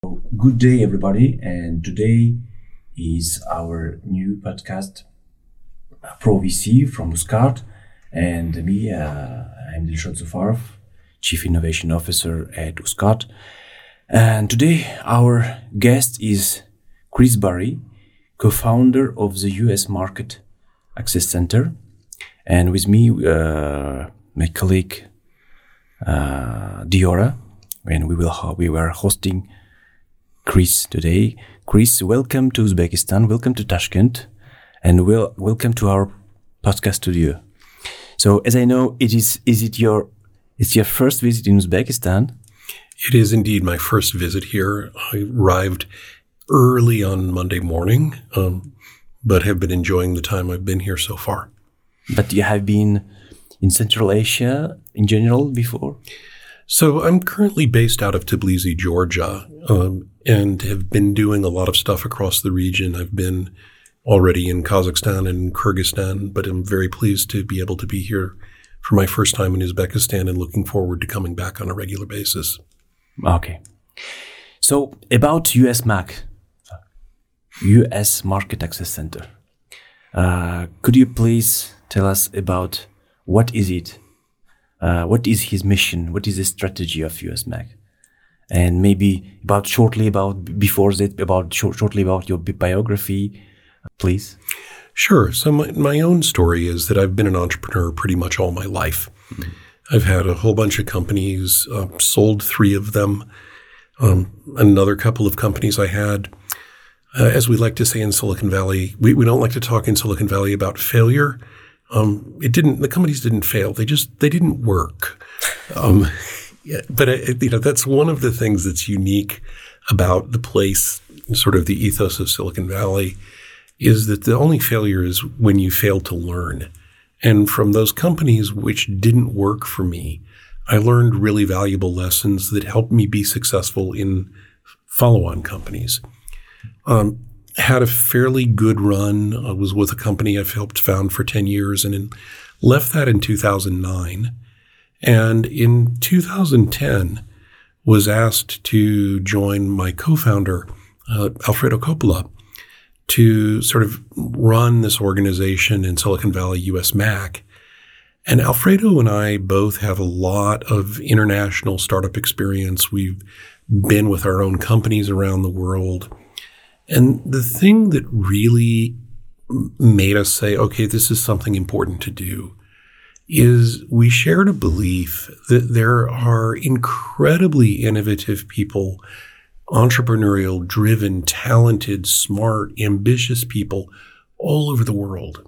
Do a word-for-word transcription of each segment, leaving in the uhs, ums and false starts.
Good day, everybody, and today is our new podcast, Pro V C from Muscat, and me, uh, I'm Dilshad Zufarov, Chief Innovation Officer at Muscat. And today our guest is Chris Barry, co-founder of the U S Market Access Center, and with me, uh, my colleague uh, Diora, and we will we were hosting Chris today. Chris, welcome to Uzbekistan, welcome to Tashkent, and wel- welcome to our podcast studio. So, as I know, it is is it your it's your first visit in Uzbekistan? It is indeed my first visit here. I arrived early on Monday morning, um, but have been enjoying the time I've been here so far. But you have been in Central Asia in general before? So I'm currently based out of Tbilisi, Georgia, um, and have been doing a lot of stuff across the region. I've been already in Kazakhstan and Kyrgyzstan, but I'm very pleased to be able to be here for my first time in Uzbekistan and looking forward to coming back on a regular basis. Okay. So about U S M A C, U S Market Access Center, uh, could you please tell us about what is it? Uh, what is his mission? What is the strategy of U S M A C? And maybe about shortly about before that, about short, shortly about your biography, please. Sure. So my, my own story is that I've been an entrepreneur pretty much all my life. Mm-hmm. I've had a whole bunch of companies, uh, sold three of them. Um, another couple of companies I had, uh, as we like to say in Silicon Valley, we, we don't like to talk in Silicon Valley about failure. Um, it didn't, the companies didn't fail. They just, they didn't work. Um, yeah, but it, you know, that's one of the things that's unique about the place, sort of the ethos of Silicon Valley, is that the only failure is when you fail to learn. And from those companies which didn't work for me, I learned really valuable lessons that helped me be successful in follow-on companies. Um, had a fairly good run. I was with a company I've helped found for ten years and in, left that in two thousand nine. And in two thousand ten was asked to join my co-founder, uh, Alfredo Coppola, to sort of run this organization in Silicon Valley, U S M A C. And Alfredo and I both have a lot of international startup experience. We've been with our own companies around the world. And the thing that really made us say, okay, this is something important to do, is we shared a belief that there are incredibly innovative people, entrepreneurial, driven, talented, smart, ambitious people all over the world.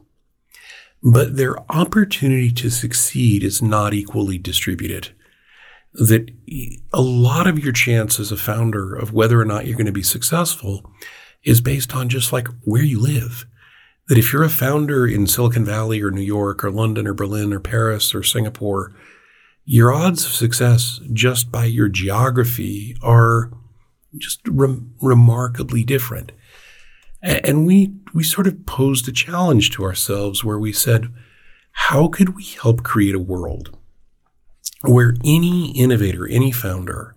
But their opportunity to succeed is not equally distributed. That a lot of your chance as a founder of whether or not you're going to be successful is based on just like where you live. That if you're a founder in Silicon Valley or New York or London or Berlin or Paris or Singapore, your odds of success just by your geography are just rem- remarkably different. A- and we we sort of posed a challenge to ourselves where we said, how could we help create a world where any innovator, any founder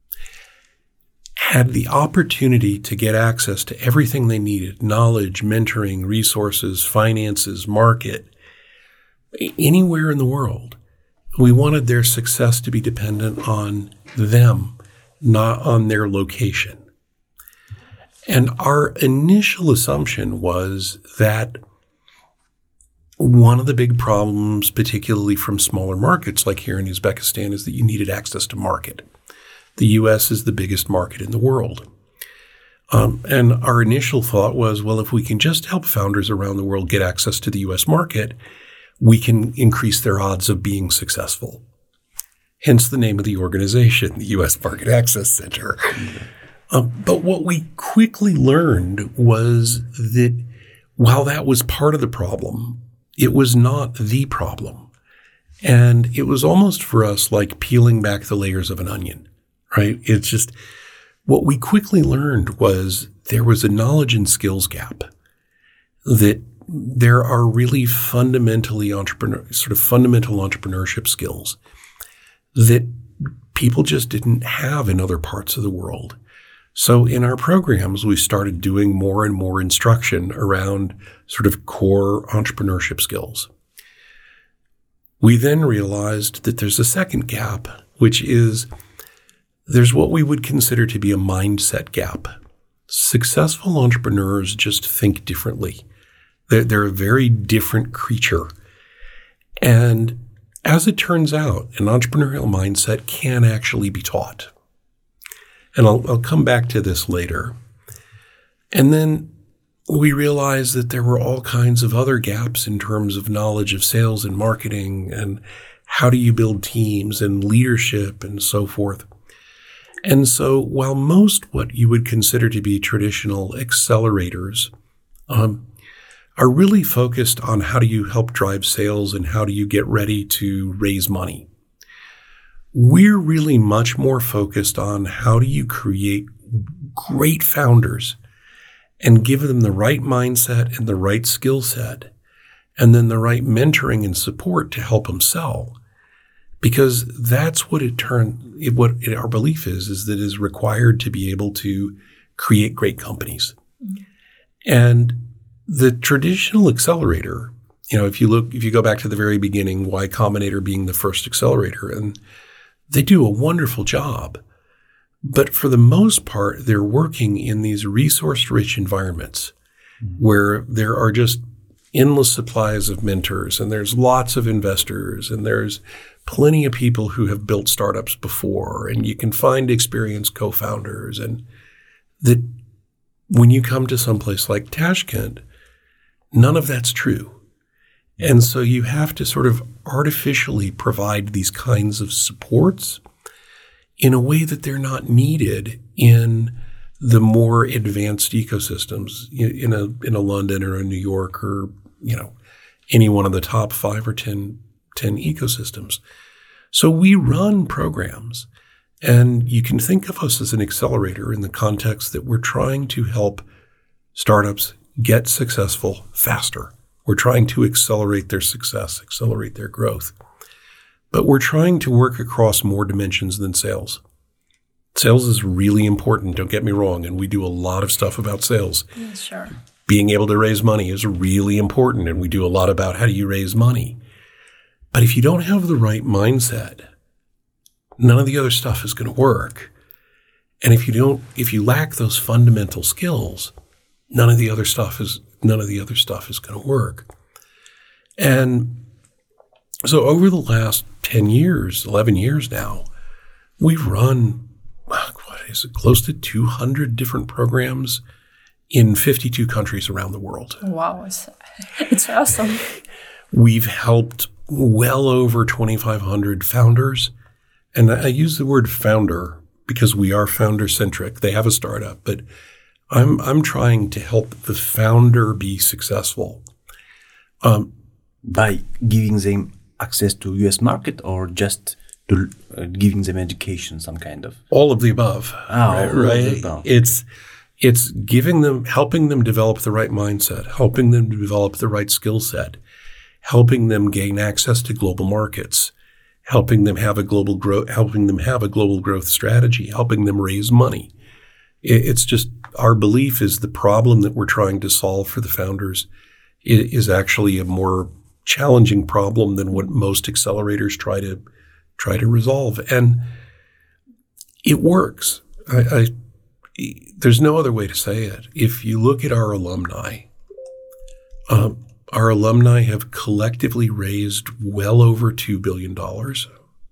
had the opportunity to get access to everything they needed, knowledge, mentoring, resources, finances, market, anywhere in the world. We wanted their success to be dependent on them, not on their location. And our initial assumption was that one of the big problems, particularly from smaller markets like here in Uzbekistan, is that you needed access to market. The U S is the biggest market in the world. Um, and our initial thought was, well, if we can just help founders around the world get access to the U S market, we can increase their odds of being successful. Hence the name of the organization, the U S Market Access Center. Um, but what we quickly learned was that while that was part of the problem, it was not the problem. And it was almost for us like peeling back the layers of an onion. Right? It's just what we quickly learned was there was a knowledge and skills gap, that there are really fundamentally entrepreneur, sort of fundamental entrepreneurship skills that people just didn't have in other parts of the world. So in our programs, we started doing more and more instruction around sort of core entrepreneurship skills. We then realized that there's a second gap, which is there's what we would consider to be a mindset gap. Successful entrepreneurs just think differently. They're, they're a very different creature. And as it turns out, an entrepreneurial mindset can actually be taught. And I'll, I'll come back to this later. And then we realized that there were all kinds of other gaps in terms of knowledge of sales and marketing and how do you build teams and leadership and so forth. And so while most what you would consider to be traditional accelerators um, are really focused on how do you help drive sales and how do you get ready to raise money, we're really much more focused on how do you create great founders and give them the right mindset and the right skill set, and then the right mentoring and support to help them sell. Because that's what it turned, it, what it, our belief is, is that it is required to be able to create great companies. Mm-hmm. And the traditional accelerator, you know, if you look, if you go back to the very beginning, Y Combinator being the first accelerator, and they do a wonderful job. But for the most part, they're working in these resource-rich environments mm-hmm. where there are just endless supplies of mentors, and there's lots of investors, and there's plenty of people who have built startups before, and you can find experienced co-founders. And that when you come to someplace like Tashkent, none of that's true. And so you have to sort of artificially provide these kinds of supports in a way that they're not needed in the more advanced ecosystems in a in a London or a New York or, you know, any one of the top five or ten, ten ecosystems. So we run programs, and you can think of us as an accelerator in the context that we're trying to help startups get successful faster. We're trying to accelerate their success, accelerate their growth. But we're trying to work across more dimensions than sales. Sales is really important, don't get me wrong, and we do a lot of stuff about sales. Yeah, sure. Being able to raise money is really important, and we do a lot about how do you raise money. But if you don't have the right mindset, none of the other stuff is going to work. And if you don't, if you lack those fundamental skills, none of the other stuff is none of the other stuff is going to work. And so over the last ten years, eleven years now, we've run, what is it, close to two hundred different programs in fifty-two countries around the world. Wow, it's, it's awesome. We've helped well over twenty-five hundred founders. And I use the word founder because we are founder-centric. They have a startup, but I'm I'm trying to help the founder be successful. Um, By giving them access to U S market, or just to uh, giving them education, some kind of? All of the above. Oh, right, all right? of the above. It's it's giving them, helping them develop the right mindset, helping them develop the right skill set, helping them gain access to global markets, helping them have a global growth, helping them have a global growth strategy, helping them raise money. It, it's just our belief is the problem that we're trying to solve for the founders is actually a more challenging problem than what most accelerators try to try to resolve, and it works. I, I, there's no other way to say it. If you look at our alumni, um, our alumni have collectively raised well over two billion dollars.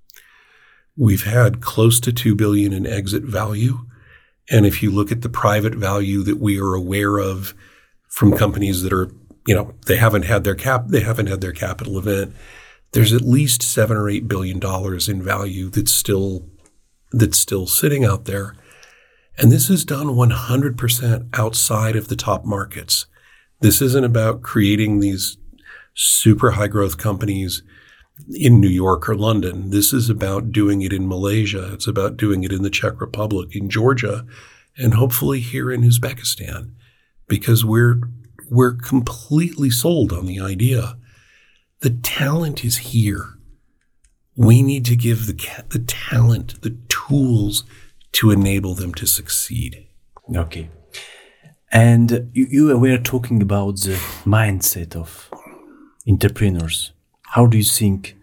We've had close to two billion dollars in exit value, and if you look at the private value that we are aware of from companies that are, you know, they haven't had their cap, they haven't had their capital event, there's at least seven or eight billion dollars in value that's still that's still sitting out there, and this is done one hundred percent outside of the top markets. This isn't about creating these super high growth companies in New York or London. This is about doing it in Malaysia. It's about doing it in the Czech Republic, in Georgia, and hopefully here in Uzbekistan, because we're we're completely sold on the idea. The talent is here. We need to give the the talent the tools to enable them to succeed. Okay. And you, you were talking about the mindset of entrepreneurs. How do you think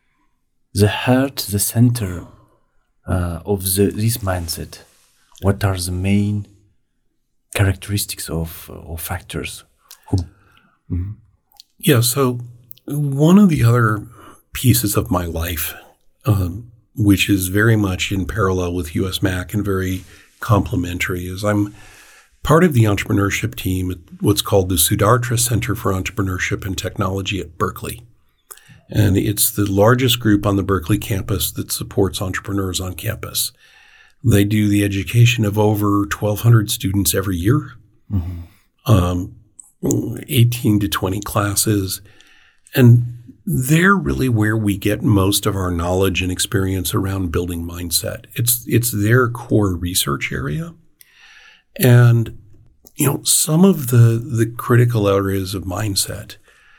the heart, the center uh, of the, this mindset? What are the main characteristics of or factors? Who, mm-hmm. Yeah, so one of the other pieces of my life, um, which is very much in parallel with U S M A C and very complementary, is I'm part of the entrepreneurship team at what's called the Sudartra Center for Entrepreneurship and Technology at Berkeley. And it's the largest group on the Berkeley campus that supports entrepreneurs on campus. They do the education of over twelve hundred students every year, mm-hmm. um, eighteen to twenty classes. And they're really where we get most of our knowledge and experience around building mindset. It's it's their core research area. And, you know, some of the, the critical areas of mindset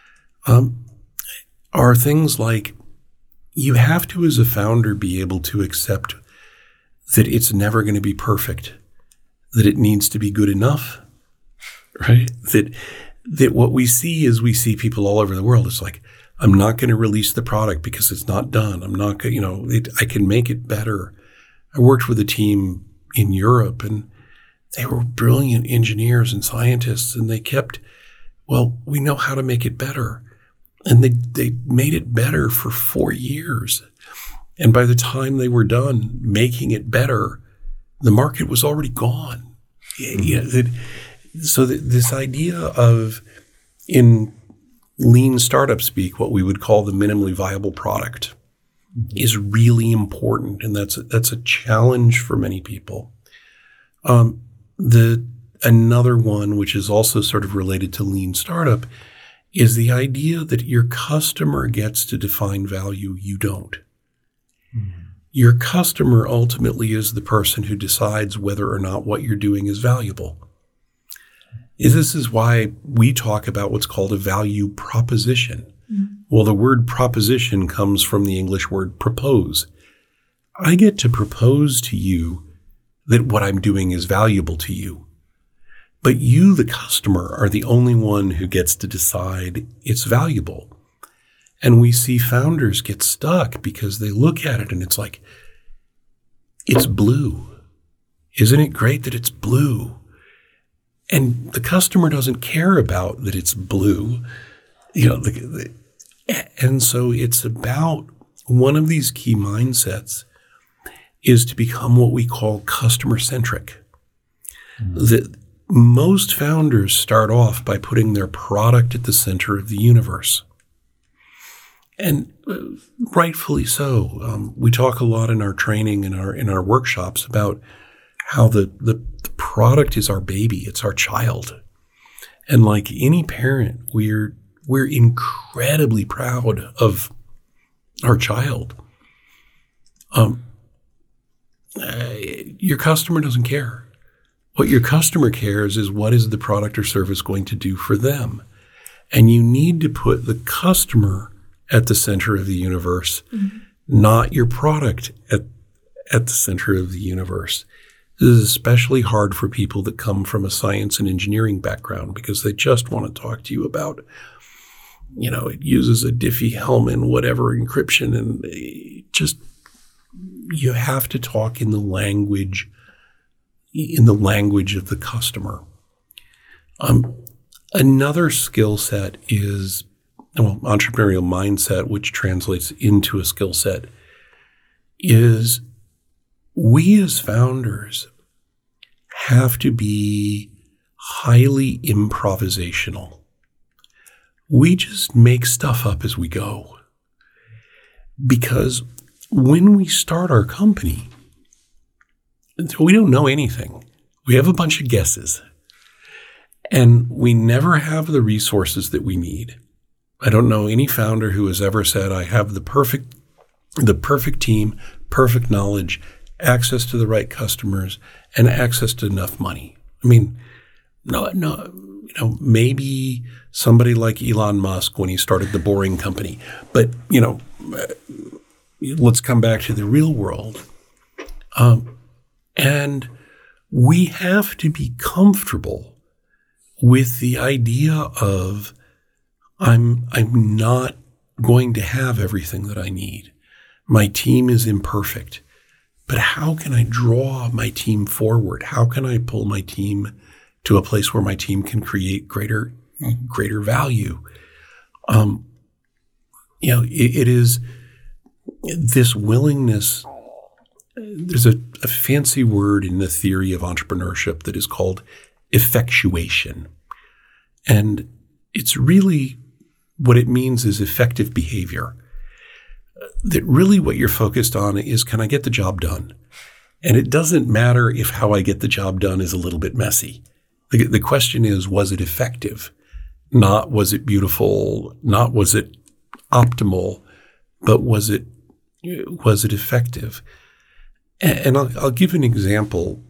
um, are things like you have to, as a founder, be able to accept that it's never going to be perfect, that it needs to be good enough, right? That that what we see is we see people all over the world. It's like, I'm not going to release the product because it's not done. I'm not going, you know, it, I can make it better. I worked with a team in Europe, and they were brilliant engineers and scientists, and they kept, well, we know how to make it better. And they, they made it better for four years. And by the time they were done making it better, the market was already gone. Mm-hmm. You know, that, so that this idea of, in lean startup speak, what we would call the minimally viable product, mm-hmm. is really important. And that's a, that's a challenge for many people. Um, the another one, which is also sort of related to lean startup, is the idea that your customer gets to define value, you don't. Mm-hmm. Your customer ultimately is the person who decides whether or not what you're doing is valuable. This is why we talk about what's called a value proposition. Mm-hmm. Well, the word proposition comes from the English word propose. I get to propose to you that what I'm doing is valuable to you. But you, the customer, are the only one who gets to decide it's valuable. And we see founders get stuck because they look at it and it's like, it's blue. Isn't it great that it's blue? And the customer doesn't care about that it's blue. You know, the, the, and so it's about one of these key mindsets is to become what we call customer-centric. Mm-hmm. That most founders start off by putting their product at the center of the universe. And uh, rightfully so. Um, we talk a lot in our training and our in our workshops about how the, the, the product is our baby, it's our child. And like any parent, we're we're incredibly proud of our child. Um, uh, your customer doesn't care. What your customer cares is what is the product or service going to do for them. And you need to put the customer at the center of the universe, mm-hmm. not your product at, at the center of the universe. This is especially hard for people that come from a science and engineering background because they just want to talk to you about, you know, it uses a Diffie-Hellman, whatever encryption, and just, you have to talk in the language in the language of the customer. Um, another skill set is, well, entrepreneurial mindset, which translates into a skill set, is we as founders have to be highly improvisational. We just make stuff up as we go. Because when we start our company, we don't know anything. We have a bunch of guesses. And we never have the resources that we need. I don't know any founder who has ever said, I have the perfect, the perfect team, perfect knowledge, access to the right customers, and access to enough money. I mean, no, no, you know, maybe somebody like Elon Musk when he started the Boring Company. But, you know, let's come back to the real world. Um, And we have to be comfortable with the idea of I'm I'm not going to have everything that I need. My team is imperfect. But how can I draw my team forward? How can I pull my team to a place where my team can create greater greater value? Um, you know, it, it is this willingness. There's a, a fancy word in the theory of entrepreneurship that is called effectuation. And it's really what it means is effective behavior. That really what you're focused on is, can I get the job done? And it doesn't matter if how I get the job done is a little bit messy. The, the question is, was it effective? Not was it beautiful, not was it optimal, but was it was it effective? And, and I'll, I'll give an example.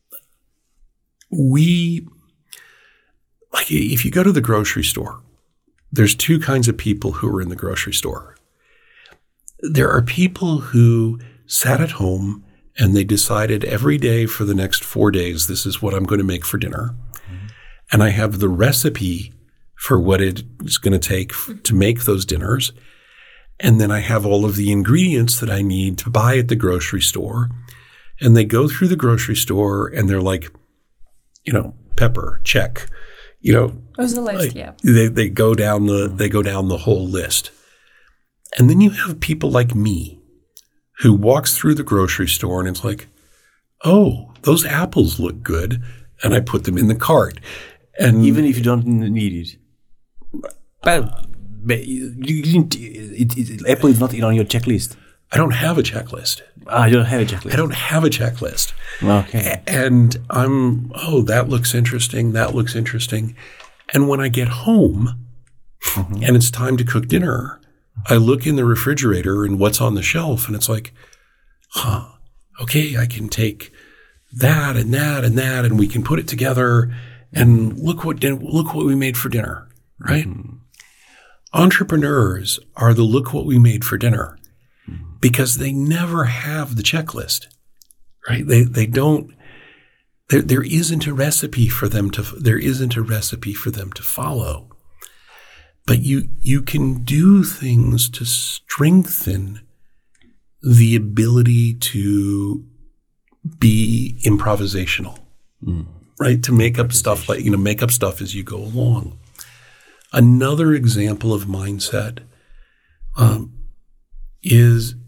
We, like if you go to the grocery store, there's two kinds of people who are in the grocery store. There are people who sat at home and they decided every day for the next four days, this is what I'm going to make for dinner. Mm-hmm. And I have the recipe for what it's going to take f- to make those dinners. And then I have all of the ingredients that I need to buy at the grocery store. And they go through the grocery store and they're like, you know, pepper, check. You know, it was the list, like, yeah. They they go down the they go down the whole list. And then you have people like me who walks through the grocery store and it's like, oh, those apples look good. And I put them in the cart. And even if you don't need it. But, but you, you didn't, it, it, Apple is not on your checklist. I don't have a checklist. Ah, you don't have a checklist. I don't have a checklist. Okay. And I'm, oh, that looks interesting. That looks interesting. And when I get home mm-hmm. and it's time to cook dinner, I look in the refrigerator and what's on the shelf, and it's like, huh, okay, I can take that and that and that, and we can put it together, and look what din- look what we made for dinner, right? Mm-hmm. Entrepreneurs are the look what we made for dinner mm-hmm. because they never have the checklist, right? They they don't. There there isn't a recipe for them to. There isn't a recipe for them to follow. But you you can do things to strengthen the ability to be improvisational, mm. right? To make up stuff like, you know, make up stuff as you go along. Another example of mindset um, is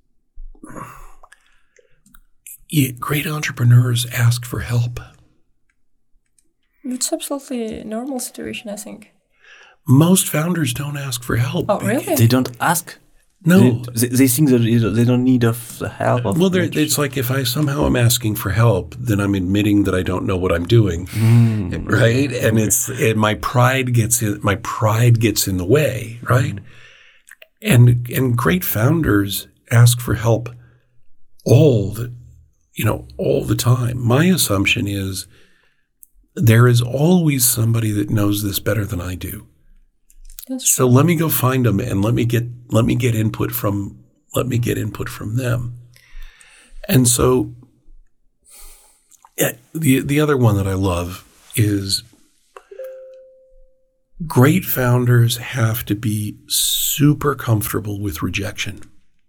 yeah, great entrepreneurs ask for help. It's absolutely a normal situation, I think. Most founders don't ask for help. Oh, really? They don't ask? No. They, they think that they don't need of the help of Well, it's like if I somehow am asking for help, then I'm admitting that I don't know what I'm doing, mm. right? And it's and my pride gets in, my pride gets in the way, right? Mm. And and great founders ask for help all the, you know, all the time. My assumption is there is always somebody that knows this better than I do. So let me go find them and let me get let me get input from let me get input from them. And so yeah, the the other one that I love is great founders have to be super comfortable with rejection.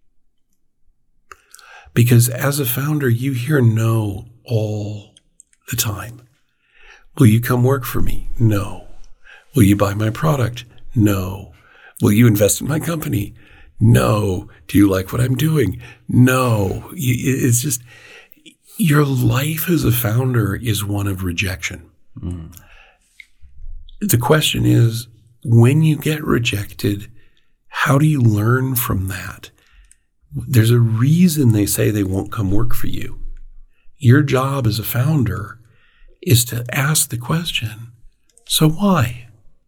Because as a founder, you hear no all the time. Will you come work for me? No. Will you buy my product? No. Will you invest in my company? No. Do you like what I'm doing? No. It's just, your life as a founder is one of rejection. Mm. The question is, when you get rejected, how do you learn from that? There's a reason they say they won't come work for you. Your job as a founder is to ask the question, so why?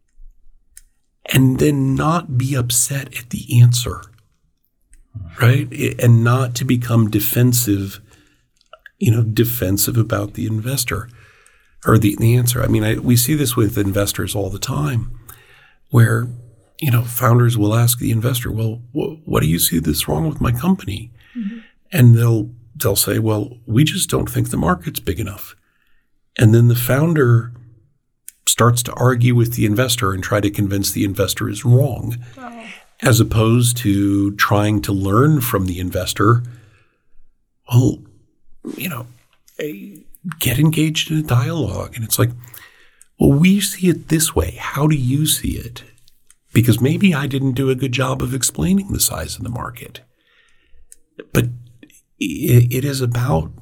And then not be upset at the answer, right? And not to become defensive, you know, defensive about the investor or the, the answer. I mean, I, we see this with investors all the time where, you know, founders will ask the investor, well, wh- what do you see that's wrong with my company? Mm-hmm. And they'll they'll say, well, we just don't think the market's big enough. And then the founder starts to argue with the investor and try to convince the investor is wrong, Oh. as opposed to trying to learn from the investor. Well, you know, eh, get engaged in a dialogue. And it's like, well, we see it this way. How do you see it? Because maybe I didn't do a good job of explaining the size of the market. But it, it is about,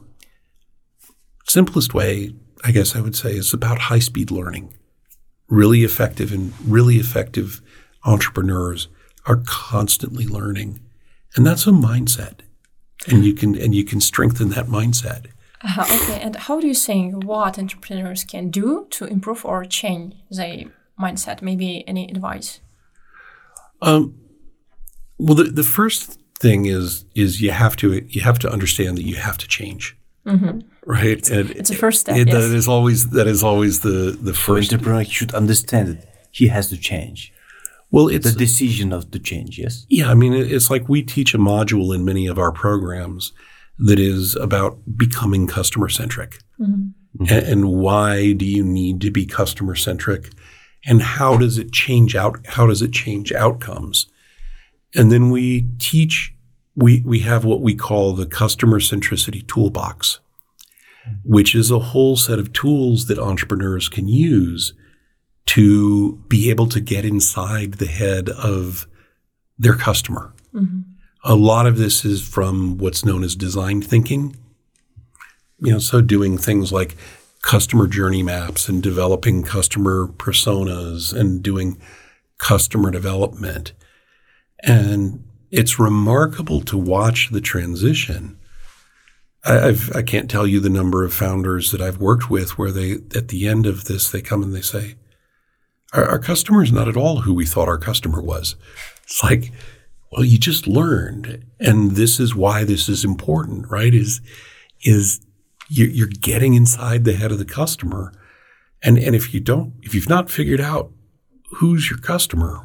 simplest way, I guess I would say, is about high-speed learning. Really effective and really effective entrepreneurs are constantly learning. And that's a mindset. And you can and you can strengthen that mindset. Uh, okay, and how do you think what entrepreneurs can do to improve or change their mindset? Maybe any advice? Um, well, the, the first thing is is you have to you have to understand that you have to change, Mm-hmm. right? It's, and it's a first step. it, Yes. that is always that is always the the For first. entrepreneur should understand that he has to change. Well, it's The decision of the change, yes? yeah. I mean, it- it's like we teach a module in many of our programs that is about becoming customer centric, Mm-hmm. and, and why do you need to be customer centric, and how does it change out? How does it change outcomes? And then we teach. We we have what we call the customer centricity toolbox, which is a whole set of tools that entrepreneurs can use to be able to get inside the head of their customer. Mm-hmm. A lot of this is from what's known as design thinking. You know, so doing things like customer journey maps and developing customer personas and doing customer development. And it's remarkable to watch the transition. I, I've, I can't tell you the number of founders that I've worked with where they, at the end of this, they come and they say, our, our customer is not at all who we thought our customer was. It's like, well, you just learned. And this is why this is important, right? Is, is you- you're getting inside the head of the customer. And, and if you don't, if you've not figured out who's your customer,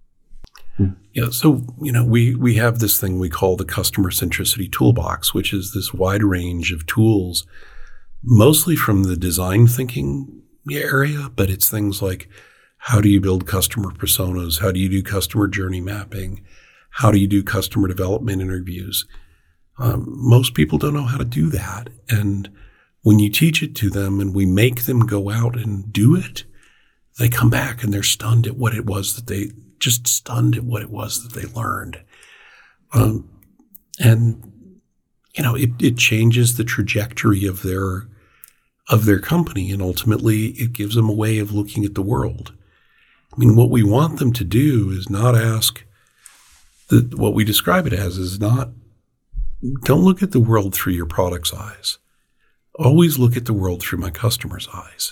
you know, so, you know, we, we have this thing we call the customer centricity toolbox, which is this wide range of tools, mostly from the design thinking area, but it's things like, how do you build customer personas? How do you do customer journey mapping? How do you do customer development interviews? Um, most people don't know how to do that. And when you teach it to them and we make them go out and do it, they come back and they're stunned at what it was that they, just stunned at what it was that they learned. Um, and, you know, it, it changes the trajectory of their, of their company. And ultimately it gives them a way of looking at the world. I mean, what we want them to do is not ask the, what we describe it as is not, don't look at the world through your product's eyes. Always look at the world through my customer's eyes.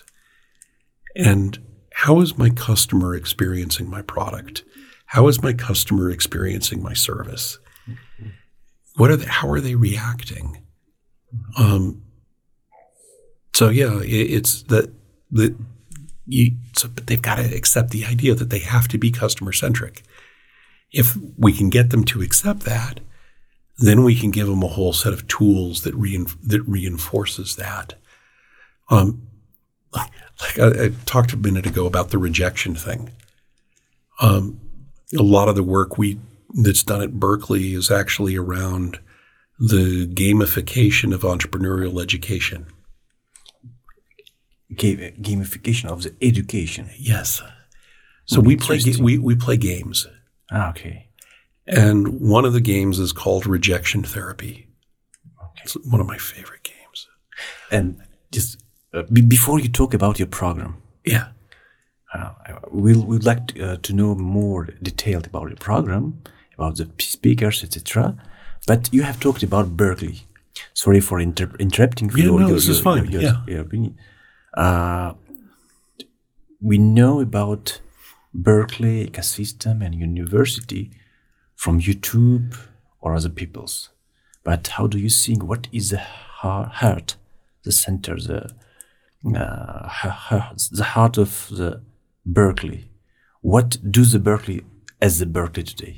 And how is my customer experiencing my product? How is my customer experiencing my service? What are they, how are they reacting? Um, so yeah, it, it's that, that you, so, but they've got to accept the idea that they have to be customer centric. If we can get them to accept that, then we can give them a whole set of tools that rein, that reinforces that. Um, like, like I, I talked a minute ago about the rejection thing. Um, a lot of the work we that's done at Berkeley is actually around the gamification of entrepreneurial education. Ga- gamification of the education. Yes. So we play ga- we we play games. Ah, okay. And one of the games is called rejection therapy. Okay. It's one of my favorite games. And just uh, be- before you talk about your program, Yeah. uh, we'll, we'd like to, uh, to know more detailed about the program, about the speakers, et cetera. But you have talked about Berkeley. Sorry for inter- interrupting. Yeah, your, no, your, this your, is fine. Your, Yeah. your opinion. Uh, we know about Berkeley ecosystem and university from YouTube or other people's. But how do you think, what is the heart, the center, the uh, the heart of the Berkeley? What do the Berkeley as the Berkeley today?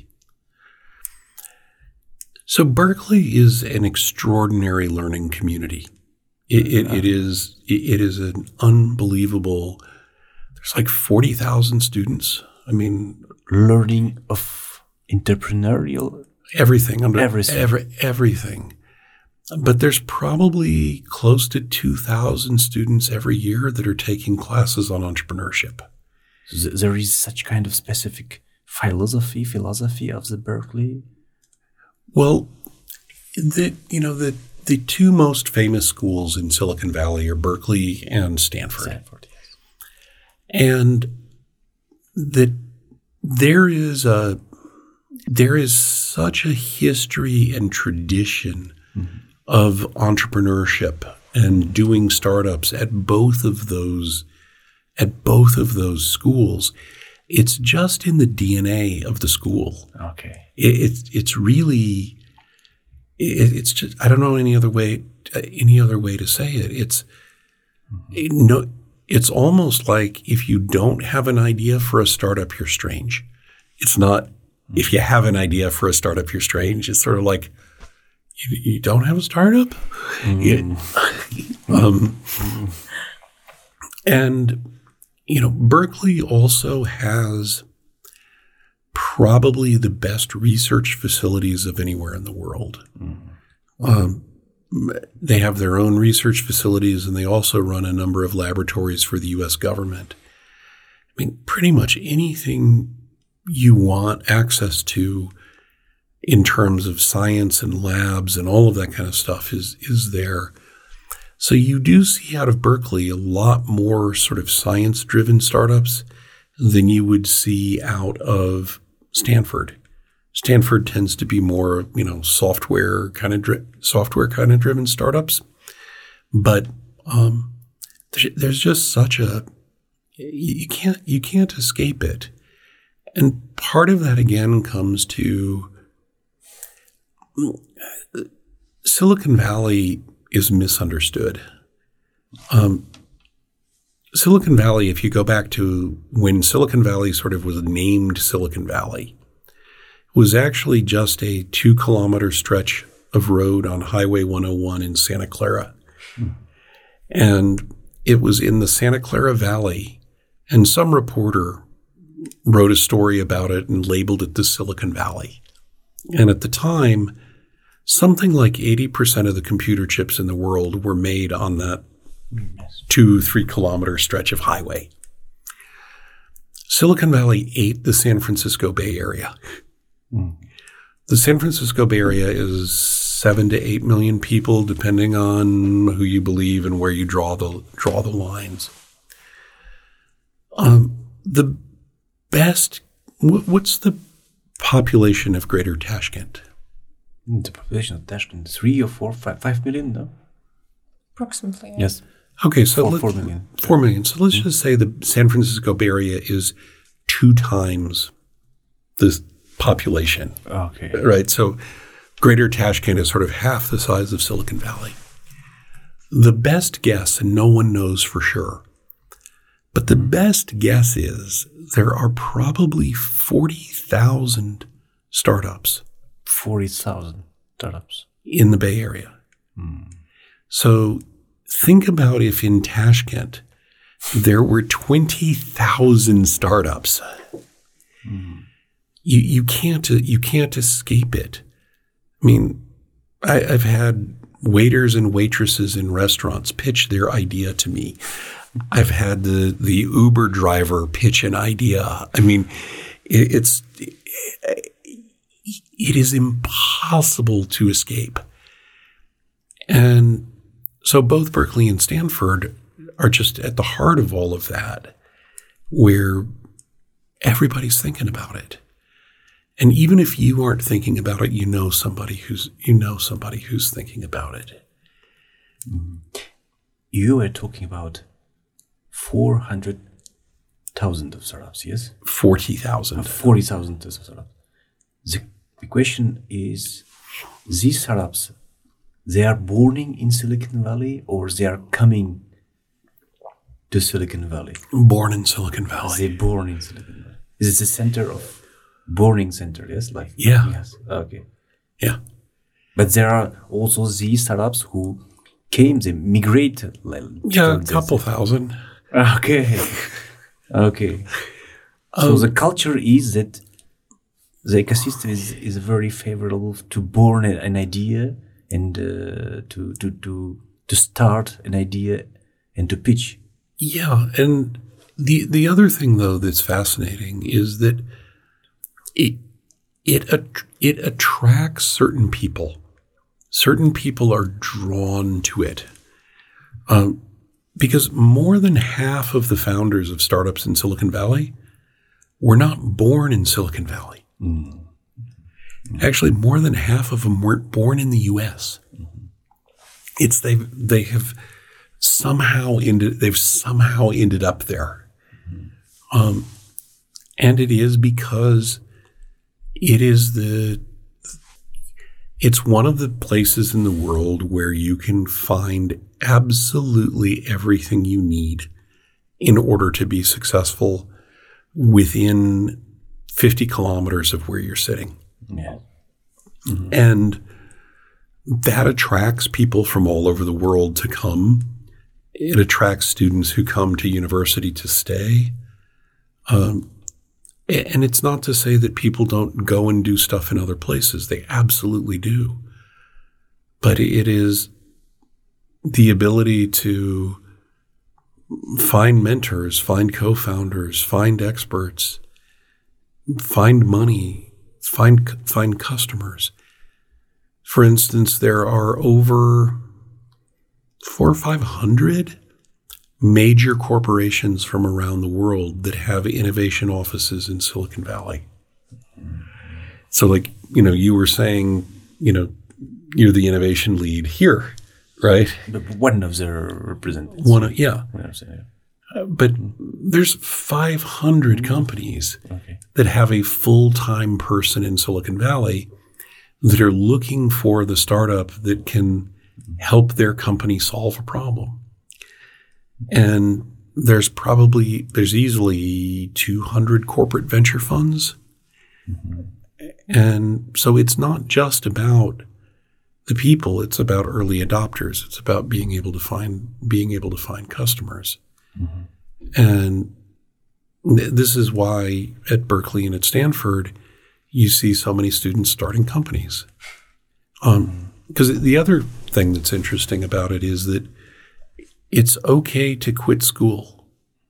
So Berkeley is an extraordinary learning community. It, it, it is it, it is an unbelievable. There's like forty thousand students. I mean, learning of entrepreneurial everything under everything. Every, everything. But there's probably close to two thousand students every year that are taking classes on entrepreneurship. So there is such kind of specific philosophy, philosophy of the Berkeley. Well, the you know the the two most famous schools in Silicon Valley are Berkeley and Stanford. Stanford, yes. And that there is a there is such a history and tradition mm-hmm. of entrepreneurship and doing startups at both of those at both of those schools. It's just in the D N A of the school. Okay. It, it's it's really it, it's just I don't know any other way any other way to say it. It's mm-hmm. it, no. It's almost like if you don't have an idea for a startup, you're strange. It's not mm-hmm. if you have an idea for a startup, you're strange. It's sort of like you, you don't have a startup. Mm-hmm. It, um, mm-hmm. And you know, Berkeley also has probably the best research facilities of anywhere in the world. Mm-hmm. Um, they have their own research facilities, and they also run a number of laboratories for the U S government. I mean, pretty much anything you want access to in terms of science and labs and all of that kind of stuff is is there. So you do see out of Berkeley a lot more sort of science-driven startups than you would see out of Stanford. Stanford tends to be more, you know, software kind of dri- software kind of driven startups, but um, there's, there's just such a you can't you can't escape it, and part of that again comes to Silicon Valley is misunderstood. Um, Silicon Valley, if you go back to when Silicon Valley sort of was named Silicon Valley, was actually just a two kilometer stretch of road on Highway one oh one in Santa Clara. Hmm. And it was in the Santa Clara Valley, and some reporter wrote a story about it and labeled it the Silicon Valley. And at the time, something like eighty percent of the computer chips in the world were made on that yes. two, three kilometer stretch of highway. Silicon Valley ate the San Francisco Bay Area. Mm. The San Francisco Bay Area is seven to eight million people, depending on who you believe and where you draw the draw the lines. Um, the best. What's the population of Greater Tashkent? The population of Tashkent, three or four, five, five million, no? Approximately. Yeah. Yes. Okay, so four, let's, four million. Four million. So let's mm-hmm. just say the San Francisco Bay Area is two times the population. Okay. Right. So Greater Tashkent is sort of half the size of Silicon Valley. The best guess, and no one knows for sure, but the best guess is there are probably forty thousand startups. forty thousand startups. In the Bay Area. Mm. So think about if in Tashkent there were twenty thousand startups. Mm. You you can't you can't escape it. I mean, I, I've had waiters and waitresses in restaurants pitch their idea to me. I've had the the Uber driver pitch an idea. I mean, it, it's it, it is impossible to escape. And so both Berkeley and Stanford are just at the heart of all of that, where everybody's thinking about it. And even if you aren't thinking about it, you know somebody who's you know somebody who's thinking about it. Mm-hmm. You were talking about four hundred thousand of startups, yes? Forty thousand. Uh, Forty thousand of startups. The, the question is: these startups, they are born in Silicon Valley, or they are coming to Silicon Valley? Born in Silicon Valley. They're born in Silicon Valley. Is it the center of Borning center, yes? Like yeah. Yes. Okay. Yeah. But there are also these startups who came, they migrated. Like, Yeah, a to couple this. thousand. Okay. Okay. So Um, the culture is that the ecosystem is, is very favorable to born a- an idea and uh, to, to, to, to start an idea and to pitch. Yeah, and the the other thing though that's fascinating is that it it att- it attracts certain people. Certain people are drawn to it, um, because more than half of the founders of startups in Silicon Valley were not born in Silicon Valley. Mm. Actually, more than half of them weren't born in the U S. Mm-hmm. It's they they have somehow ended they've somehow ended up there, mm-hmm. um, and it is because it is the it's one of the places in the world where you can find absolutely everything you need in order to be successful within fifty kilometers of where you're sitting. Yeah. Mm-hmm. And that attracts people from all over the world to come. It attracts students who come to university to stay. Um, and it's not to say that people don't go and do stuff in other places. They absolutely do. But it is the ability to find mentors, find co-founders, find experts, find money, find find customers. For instance, there are over four or five hundred major corporations from around the world that have innovation offices in Silicon Valley. So, like, you know, you were saying, you know, you're the innovation lead here, right? But one of the representatives. One, of, yeah. One of the- Uh, but there's five hundred companies Okay. that have a full-time person in Silicon Valley that are looking for the startup that can help their company solve a problem. And there's probably, there's easily two hundred corporate venture funds. Mm-hmm. And so it's not just about the people, it's about early adopters. It's about being able to find, being able to find customers. Mm-hmm. And th- this is why at Berkeley and at Stanford, you see so many students starting companies. Um, because the other thing that's interesting about it is that it's okay to quit school.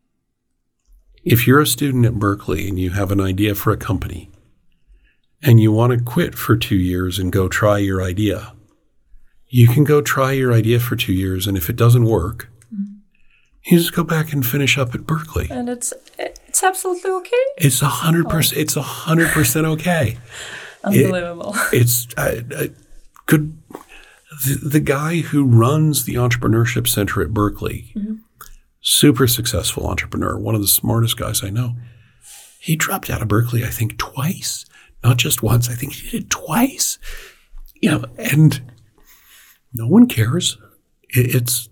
If you're a student at Berkeley and you have an idea for a company and you want to quit for two years and go try your idea, you can go try your idea for two years. And if it doesn't work, you just go back and finish up at Berkeley. And it's it's absolutely okay. It's a hundred percent. It's a hundred percent okay. Unbelievable. It, it's I, I could the, the guy who runs the Entrepreneurship Center at Berkeley, mm-hmm. super successful entrepreneur, one of the smartest guys I know. He dropped out of Berkeley, I think, twice, not just once. I think he did it twice. You know, and no one cares. It, it's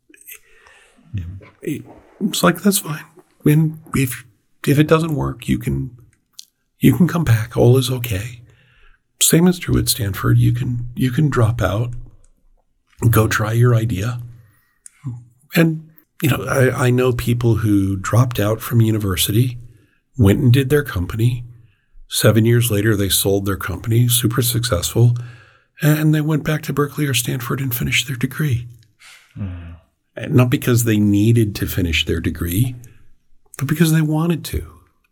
it, it's like that's fine. When if if it doesn't work, you can you can come back. All is okay. Same is true at Stanford. You can you can drop out, go try your idea. And you know, I, I know people who dropped out from university, went and did their company. Seven years later, they sold their company, super successful, and they went back to Berkeley or Stanford and finished their degree. Mm. Not because they needed to finish their degree, but because they wanted to.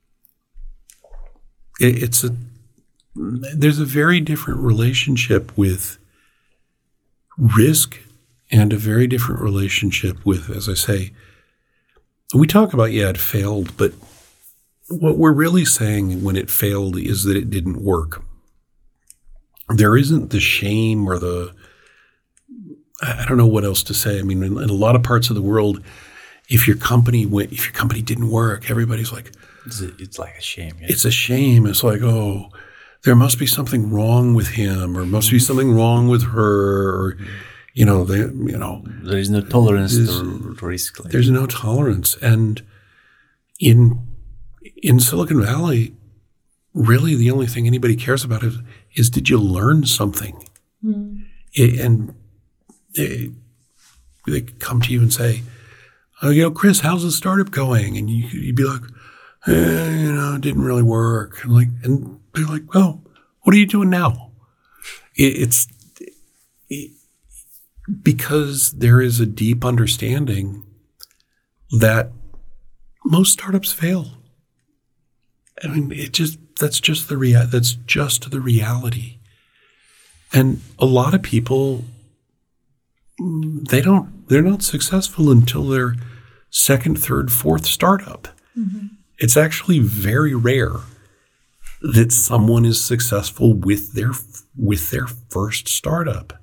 It, it's a there's a very different relationship with risk and a very different relationship with, as I say, we talk about, yeah, it failed, but what we're really saying when it failed is that it didn't work. There isn't the shame or the, I don't know what else to say. I mean, in, in a lot of parts of the world, if your company went, if your company didn't work, everybody's like, it's, a, it's like a shame. Yeah. It's a shame. It's like, oh, there must be something wrong with him, or must be something wrong with her, or, you know, they, you know, there is no tolerance to risk. Like there's no tolerance. And in, in Silicon Valley, really the only thing anybody cares about is, is did you learn something? Mm. It, and it, they could come to you and say, oh, you know, Chris, how's the startup going? And you, you'd be like, eh, you know, it didn't really work. And like, and they're like, well, what are you doing now? It, it's it, because there is a deep understanding that most startups fail. I mean, it just that's just the rea- that's just the reality. And a lot of people, they don't they're not successful until their second, third, fourth startup. Mm-hmm. It's actually very rare that someone is successful with their with their first startup.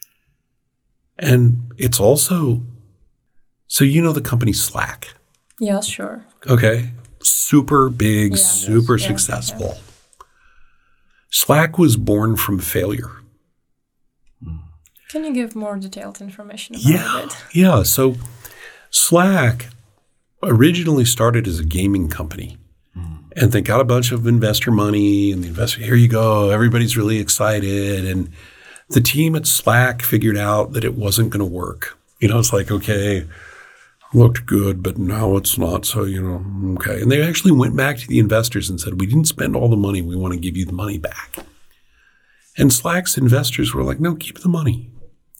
And it's also, so you know the company Slack. Yeah, sure. Okay. Super big, yeah, super yes, successful. Yeah. Slack was born from failure. Can you give more detailed information about yeah, it? Yeah. So Slack originally started as a gaming company. Mm. And they got a bunch of investor money, and the investor, here you go, everybody's really excited. And the team at Slack figured out that it wasn't going to work. You know, it's like, okay, looked good, but now it's not. So, you know, okay. And they actually went back to the investors and said, we didn't spend all the money. We want to give you the money back. And Slack's investors were like, no, keep the money.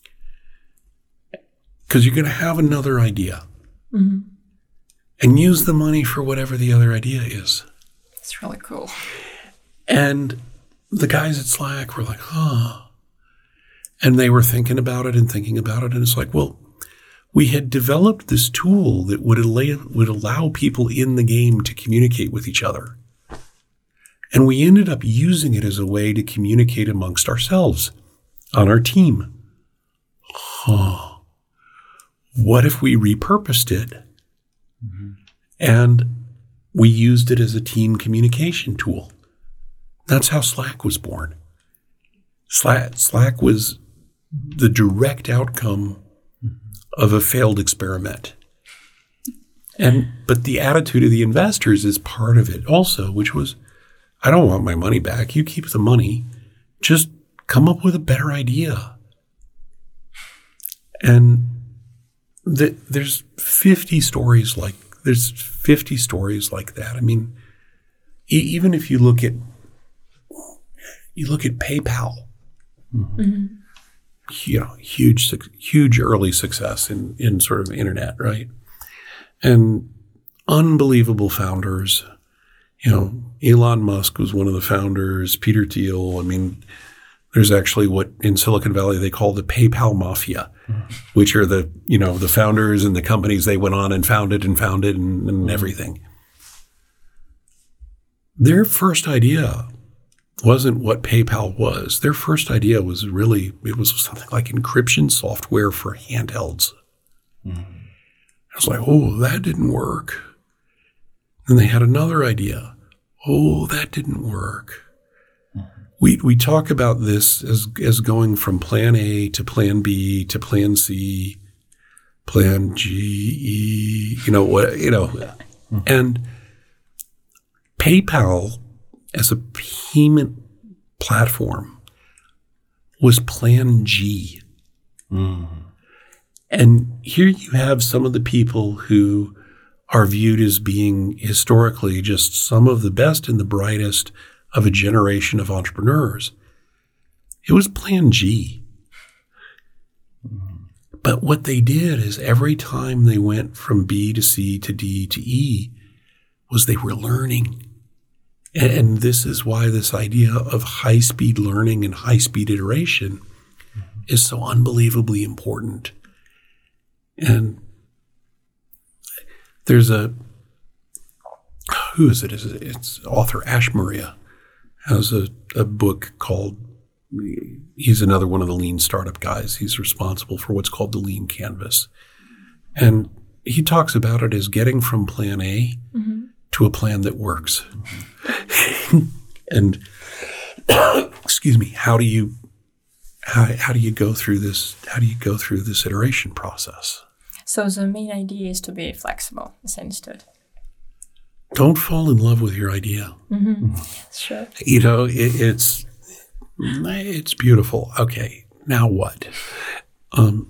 Because you're going to have another idea. Mm-hmm. And use the money for whatever the other idea is. It's really cool. And the guys at Slack were like, huh. And they were thinking about it and thinking about it. And it's like, well, we had developed this tool that would allow, would allow people in the game to communicate with each other. And we ended up using it as a way to communicate amongst ourselves on our team. Huh. What if we repurposed it? Mm-hmm. And we used it as a team communication tool. That's how Slack was born. Slack, Slack was the direct outcome of a failed experiment. And but the attitude of the investors is part of it also, which was, I don't want my money back. You keep the money. Just come up with a better idea. And the, there's fifty stories like there's fifty stories like that. I mean, e- even if you look at you look at PayPal. Mm-hmm. You know, huge, huge early success in, in sort of internet, right? And unbelievable founders. You know, Elon Musk was one of the founders, Peter Thiel. I mean, there's actually what in Silicon Valley they call the PayPal Mafia, mm-hmm. which are the, you know, the founders and the companies they went on and founded and founded and, and mm-hmm. everything. Their first idea wasn't what PayPal was. Their first idea was really, it was something like encryption software for handhelds. Mm-hmm. I was like, oh, that didn't work. And they had another idea. Oh, that didn't work. Mm-hmm. We we talk about this as as going from plan A to plan B to plan C, plan G, E, you know, what, you know. Mm-hmm. And PayPal as a payment platform was plan G. Mm. And here you have some of the people who are viewed as being historically just some of the best and the brightest of a generation of entrepreneurs. It was plan G. Mm. But what they did is every time they went from B to C to D to E was they were learning. And this is why this idea of high-speed learning and high-speed iteration mm-hmm. is so unbelievably important. And there's a, who is it? It's author Ash Maurya has a, a book called, he's another one of the lean startup guys. He's responsible for what's called the Lean Canvas. And he talks about it as getting from plan A mm-hmm. to a plan that works. Mm-hmm. And excuse me, how do you how how do you go through this how do you go through this iteration process? So the main idea is to be flexible, as I understood. Don't fall in love with your idea. Mm-hmm. Sure. You know, it, it's it's beautiful. Okay, now what? Um,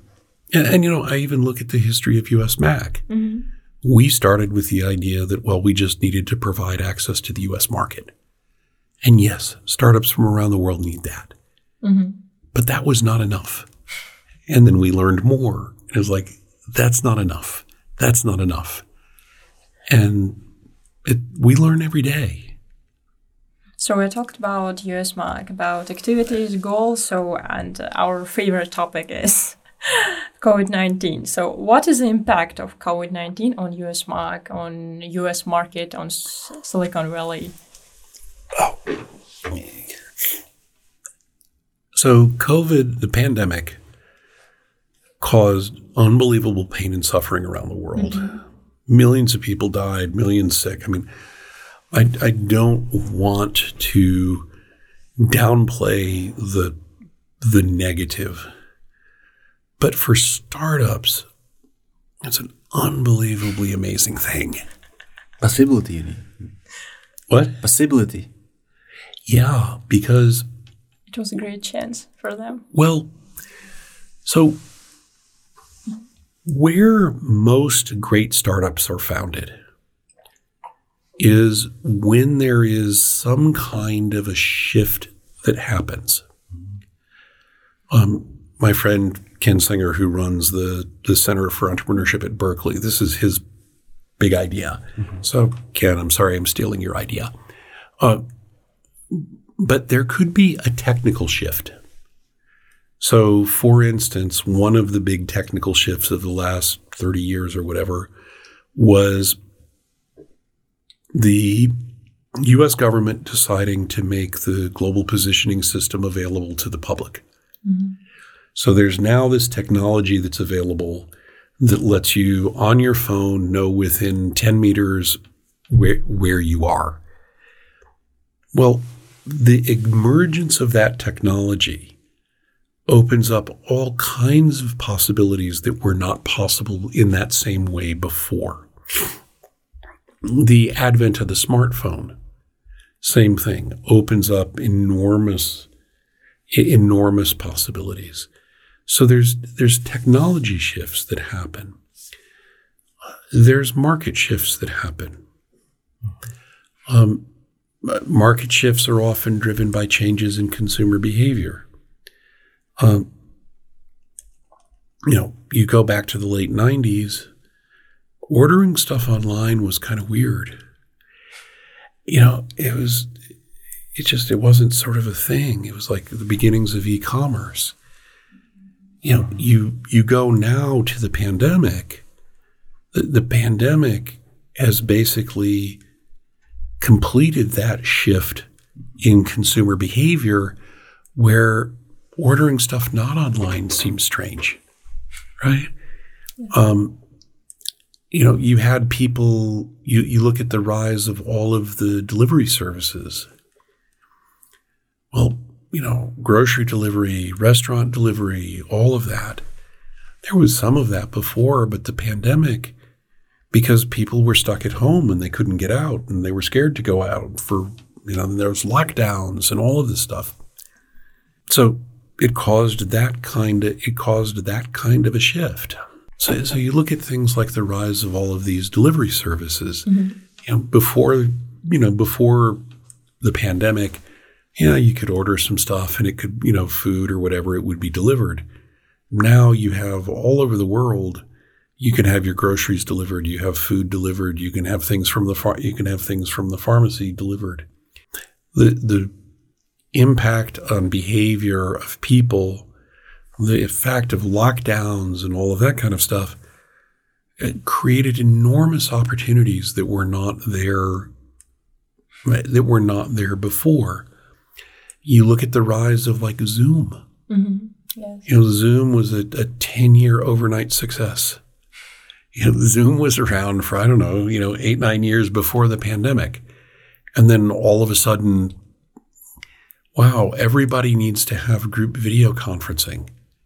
And, and, you know, I even look at the history of U S Mac. Mm-hmm. We started with the idea that, well, we just needed to provide access to the U S market. And yes, startups from around the world need that. Mm-hmm. But that was not enough. And then we learned more. It was like, that's not enough. That's not enough. And it, we learn every day. So we talked about U S Mac, about activities, goals, so and our favorite topic is COVID nineteen. So what is the impact of COVID nineteen on U S Mac, on U S market, on S- Silicon Valley? Oh. So COVID, the pandemic, caused unbelievable pain and suffering around the world. Mm-hmm. Millions of people died, millions sick. I mean, I, I don't want to downplay the the negative, but for startups, it's an unbelievably amazing thing. Possibility, you mean? What? Possibility. Yeah, because it was a great chance for them. Well, so where most great startups are founded is when there is some kind of a shift that happens. Um, my friend Ken Singer, who runs the, the Center for Entrepreneurship at Berkeley, this is his big idea. Mm-hmm. So, Ken, I'm sorry I'm stealing your idea. Uh, but there could be a technical shift. So, for instance, one of the big technical shifts of the last thirty years or whatever was the U S government deciding to make the global positioning system available to the public. Mm-hmm. So there's now this technology that's available that lets you on your phone know within ten meters where, where you are. Well, the emergence of that technology opens up all kinds of possibilities that were not possible in that same way before. The advent of the smartphone, same thing, opens up enormous, enormous possibilities. So there's there's technology shifts that happen. There's market shifts that happen. Um, market shifts are often driven by changes in consumer behavior. Um, you know, you go back to the late nineties, ordering stuff online was kind of weird. You know, it was, it just, it wasn't sort of a thing. It was like the beginnings of e-commerce. You know, you, you go now to the pandemic, the, the pandemic has basically completed that shift in consumer behavior where ordering stuff not online seems strange, right? Yeah. Um, you know, you had people, you, you look at the rise of all of the delivery services. Well, you know, grocery delivery, restaurant delivery, all of that. There was some of that before, but the pandemic, because people were stuck at home and they couldn't get out and they were scared to go out for, you know, there was lockdowns and all of this stuff. So it caused that kind of, it caused that kind of a shift. So, so you look at things like the rise of all of these delivery services. Mm-hmm. You know, before, you know, before the pandemic, yeah, you could order some stuff and it could, you know, food or whatever, it would be delivered. Now you have all over the world, you can have your groceries delivered, you have food delivered, you can have things from the far, you can have things from the pharmacy delivered. The the impact on behavior of people, the effect of lockdowns and all of that kind of stuff, it created enormous opportunities that were not there, that were not there before. You look at the rise of like Zoom. Mm-hmm. Yes. You know, Zoom was a, a ten-year overnight success. You know, Zoom was around for, I don't know, you know, eight, nine years before the pandemic. And then all of a sudden, wow, everybody needs to have group video conferencing.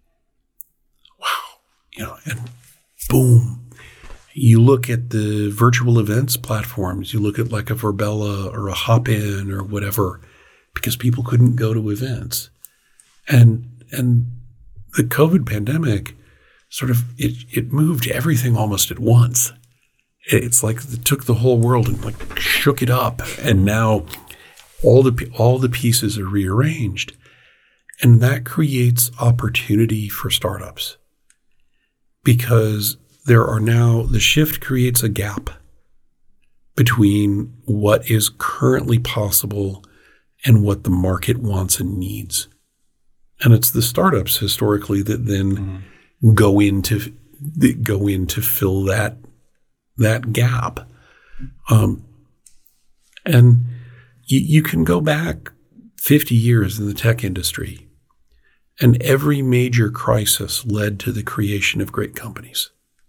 Wow. You know, and boom. You look at the virtual events platforms, you look at like a Verbella or a Hopin or whatever, because people couldn't go to events. And and the COVID pandemic sort of, it, it moved everything almost at once. It's like it took the whole world and like shook it up. And now all the, all the pieces are rearranged. And that creates opportunity for startups because there are now, the shift creates a gap between what is currently possible and what the market wants and needs. And it's the startups historically that then mm-hmm. go into that go in to fill that that gap. Um, and you, you can go back fifty years in the tech industry, and every major crisis led to the creation of great companies.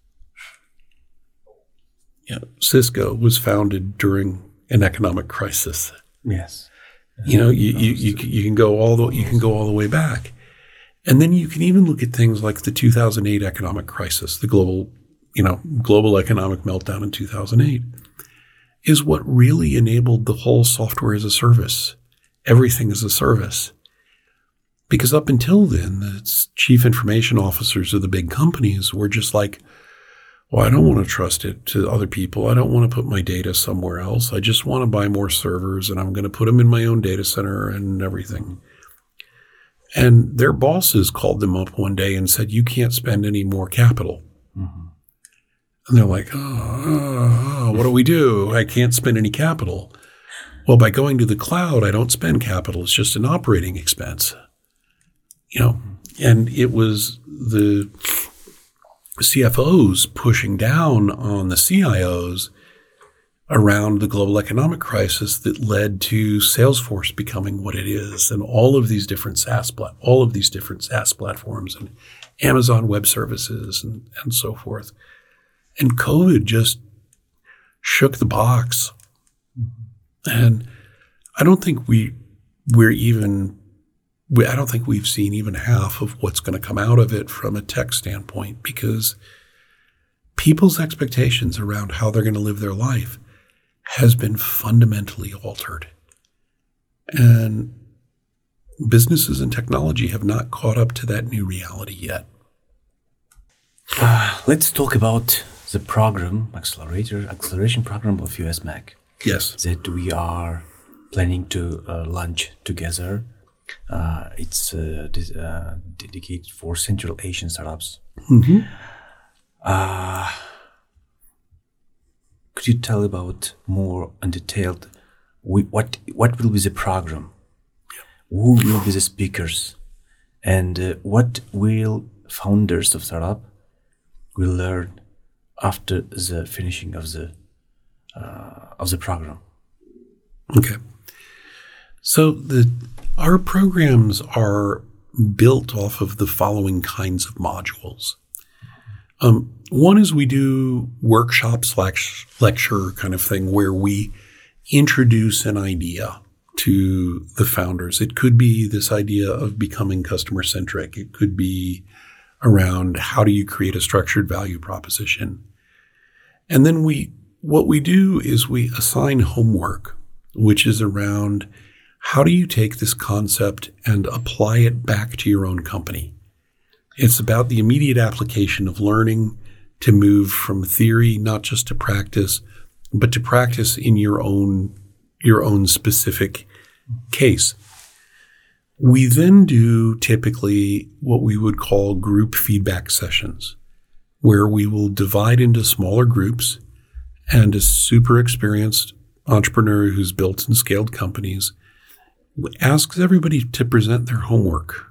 Yeah, Cisco was founded during an economic crisis. Yes. You know, you, you, you, you can go all the you can go all the way back. And then you can even look at things like the two thousand eight economic crisis, the global, you know, global economic meltdown in two thousand eight is what really enabled the whole software as a service, everything as a service. Because up until then, the chief information officers of the big companies were just like, well, I don't want to trust it to other people. I don't want to put my data somewhere else. I just want to buy more servers and I'm going to put them in my own data center and everything. And their bosses called them up one day and said, you can't spend any more capital. Mm-hmm. And they're like, oh, oh, oh, what do we do? I can't spend any capital. Well, by going to the cloud, I don't spend capital. It's just an operating expense. You know, and it was the C F Os pushing down on the C I Os around the global economic crisis that led to Salesforce becoming what it is, and all of these different SaaS plat- all of these different SaaS platforms, and Amazon Web Services, and, and so forth. And COVID just shook the box, and I don't think we we're even. We, I don't think we've seen even half of what's going to come out of it from a tech standpoint, because people's expectations around how they're going to live their life has been fundamentally altered. And businesses and technology have not caught up to that new reality yet. Uh, let's talk about the program, accelerator, acceleration program of U S M A C. Yes. That we are planning to uh, launch together. Uh, it's uh, dis- uh, dedicated for Central Asian startups. Mm-hmm. Uh, could you tell about more undetailed we, what what will be the program? Who will be the speakers? And uh, what will founders of startup will learn after the finishing of the uh, of the program? Okay. So the our programs are built off of the following kinds of modules. Um, one is we do workshop slash lecture kind of thing where we introduce an idea to the founders. It could be this idea of becoming customer centric. It could be around how do you create a structured value proposition. And then we, what we do is we assign homework, which is around how do you take this concept and apply it back to your own company? It's about the immediate application of learning to move from theory, not just to practice, but to practice in your own, your own specific case. We then do typically what we would call group feedback sessions, where we will divide into smaller groups, and a super experienced entrepreneur who's built and scaled companies asks everybody to present their homework.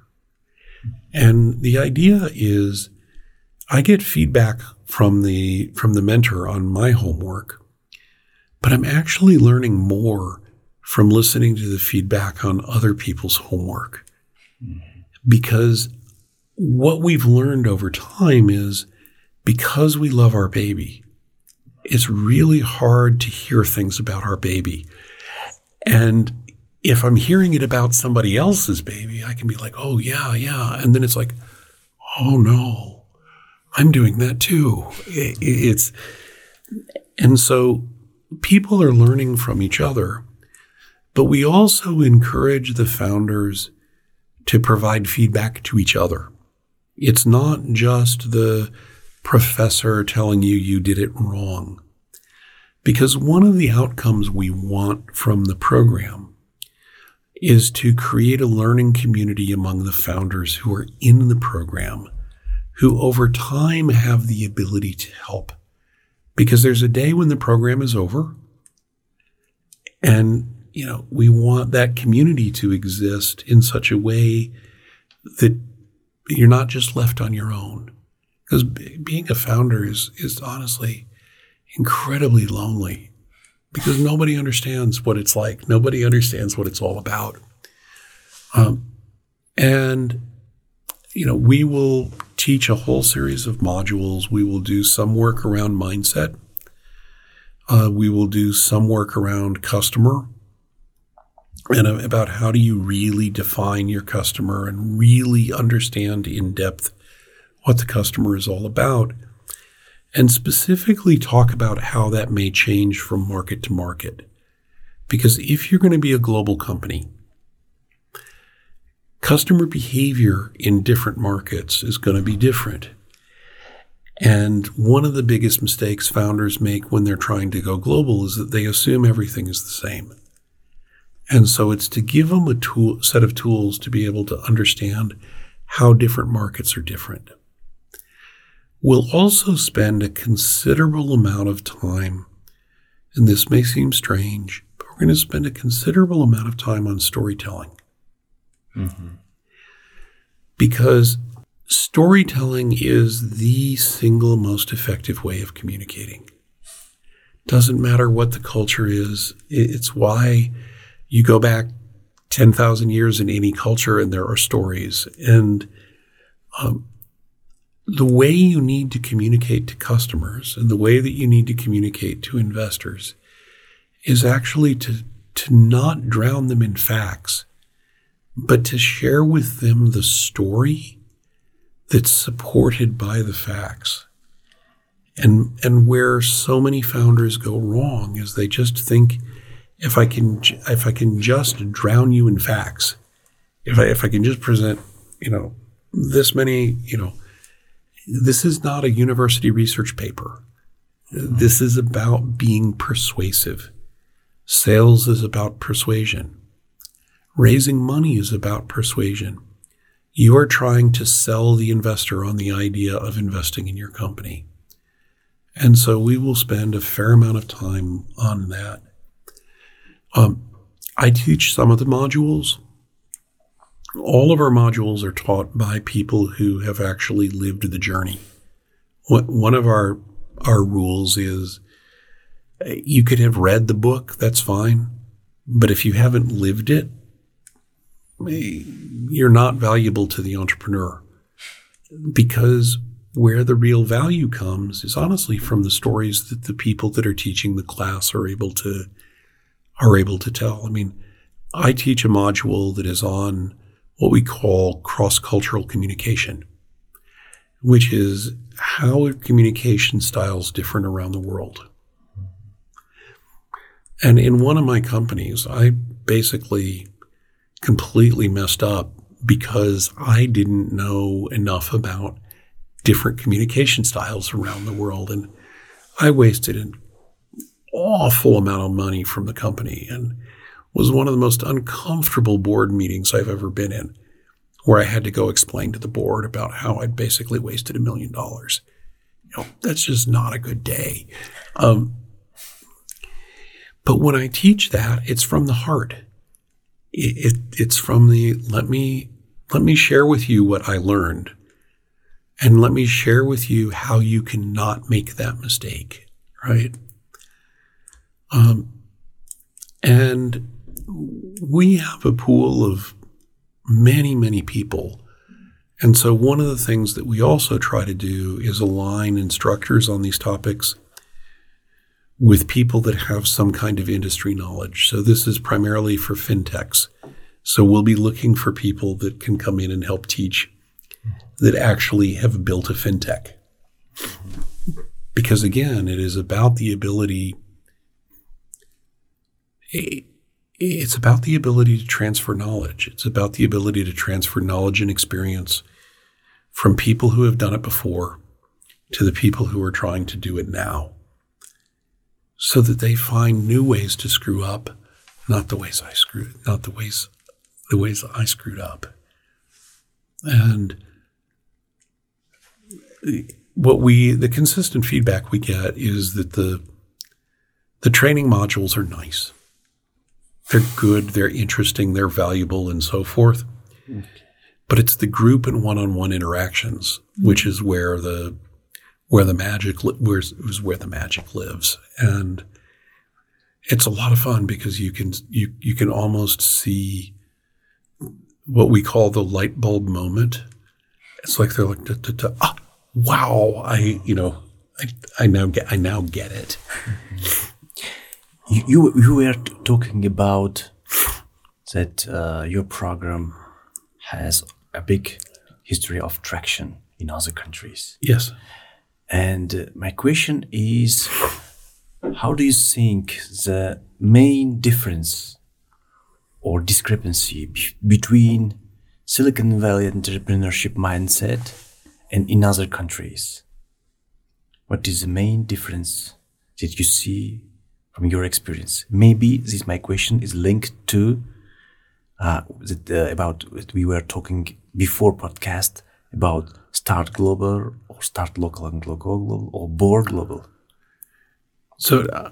And the idea is I get feedback from the from the mentor on my homework, but I'm actually learning more from listening to the feedback on other people's homework. Mm-hmm. Because what we've learned over time is because we love our baby, it's really hard to hear things about our baby. And if I'm hearing it about somebody else's baby, I can be like, oh, yeah, yeah. And then it's like, oh, no, I'm doing that too. It's, and so people are learning from each other, but we also encourage the founders to provide feedback to each other. It's not just the professor telling you you did it wrong. Because one of the outcomes we want from the program is to create a learning community among the founders who are in the program, who over time have the ability to help. Because there's a day when the program is over, and, you know, we want that community to exist in such a way that you're not just left on your own. Because b- being a founder is, is honestly incredibly lonely, because nobody understands what it's like. Nobody understands what it's all about. Um, and, you know, we will teach a whole series of modules. We will do some work around mindset. Uh, we will do some work around customer and about how do you really define your customer and really understand in depth what the customer is all about, and specifically talk about how that may change from market to market. Because if you're going to be a global company, customer behavior in different markets is going to be different. And one of the biggest mistakes founders make when they're trying to go global is that they assume everything is the same. And so it's to give them a tool, set of tools to be able to understand how different markets are different. We'll also spend a considerable amount of time, and this may seem strange, but we're going to spend a considerable amount of time on storytelling. Mm-hmm. Because storytelling is the single most effective way of communicating. Doesn't matter what the culture is. It's why you go back ten thousand years in any culture and there are stories. And um, the way you need to communicate to customers and the way that you need to communicate to investors is actually to, to not drown them in facts, but to share with them the story that's supported by the facts. And and where so many founders go wrong is they just think, if I can if I can just drown you in facts, if I if I can just present, you know, this many, you know, this is not a university research paper. This is about being persuasive. Sales is about persuasion. Raising money is about persuasion. You are trying to sell the investor on the idea of investing in your company. And so we will spend a fair amount of time on that. Um, I teach some of the modules. All of our modules are taught by people who have actually lived the journey. One of our our rules is you could have read the book, that's fine. But if you haven't lived it, you're not valuable to the entrepreneur. Because where the real value comes is honestly from the stories that the people that are teaching the class are able to are able to tell. I mean, I teach a module that is on what we call cross-cultural communication, which is how are communication styles different around the world. And in one of my companies, I basically completely messed up because I didn't know enough about different communication styles around the world. And I wasted an awful amount of money from the company and was one of the most uncomfortable board meetings I've ever been in, where I had to go explain to the board about how I'd basically wasted a million dollars. You know, that's just not a good day. Um, but when I teach that, it's from the heart. It, it, it's from the, let me, let me share with you what I learned, and let me share with you how you can not make that mistake, right? Um, and we have a pool of many, many people. And so one of the things that we also try to do is align instructors on these topics with people that have some kind of industry knowledge. So this is primarily for fintechs. So we'll be looking for people that can come in and help teach that actually have built a fintech. Because again, it is about the ability It's about the ability to transfer knowledge. It's about the ability to transfer knowledge and experience from people who have done it before to the people who are trying to do it now, so that they find new ways to screw up, not the ways I screwed, not the ways, the ways I screwed up. And what we, the consistent feedback we get is that the, the training modules are nice. They're good, they're interesting, they're valuable, and so forth. Okay. But it's the group and one-on-one interactions, mm-hmm. which is where the where the magic li- where is where the magic lives. And it's a lot of fun because you can you you can almost see what we call the light bulb moment. It's like they're like, da, da, da, ah, wow, I you know I I now get I now get it. You you, you were t- talking about that uh, your program has a big history of traction in other countries. Yes. And uh, my question is, how do you think the main difference or discrepancy b- between Silicon Valley entrepreneurship mindset and in other countries? What is the main difference that you see from your experience? Maybe this my question is linked to uh, that, uh, about what we were talking before podcast about start global or start local and global or board global. So, uh,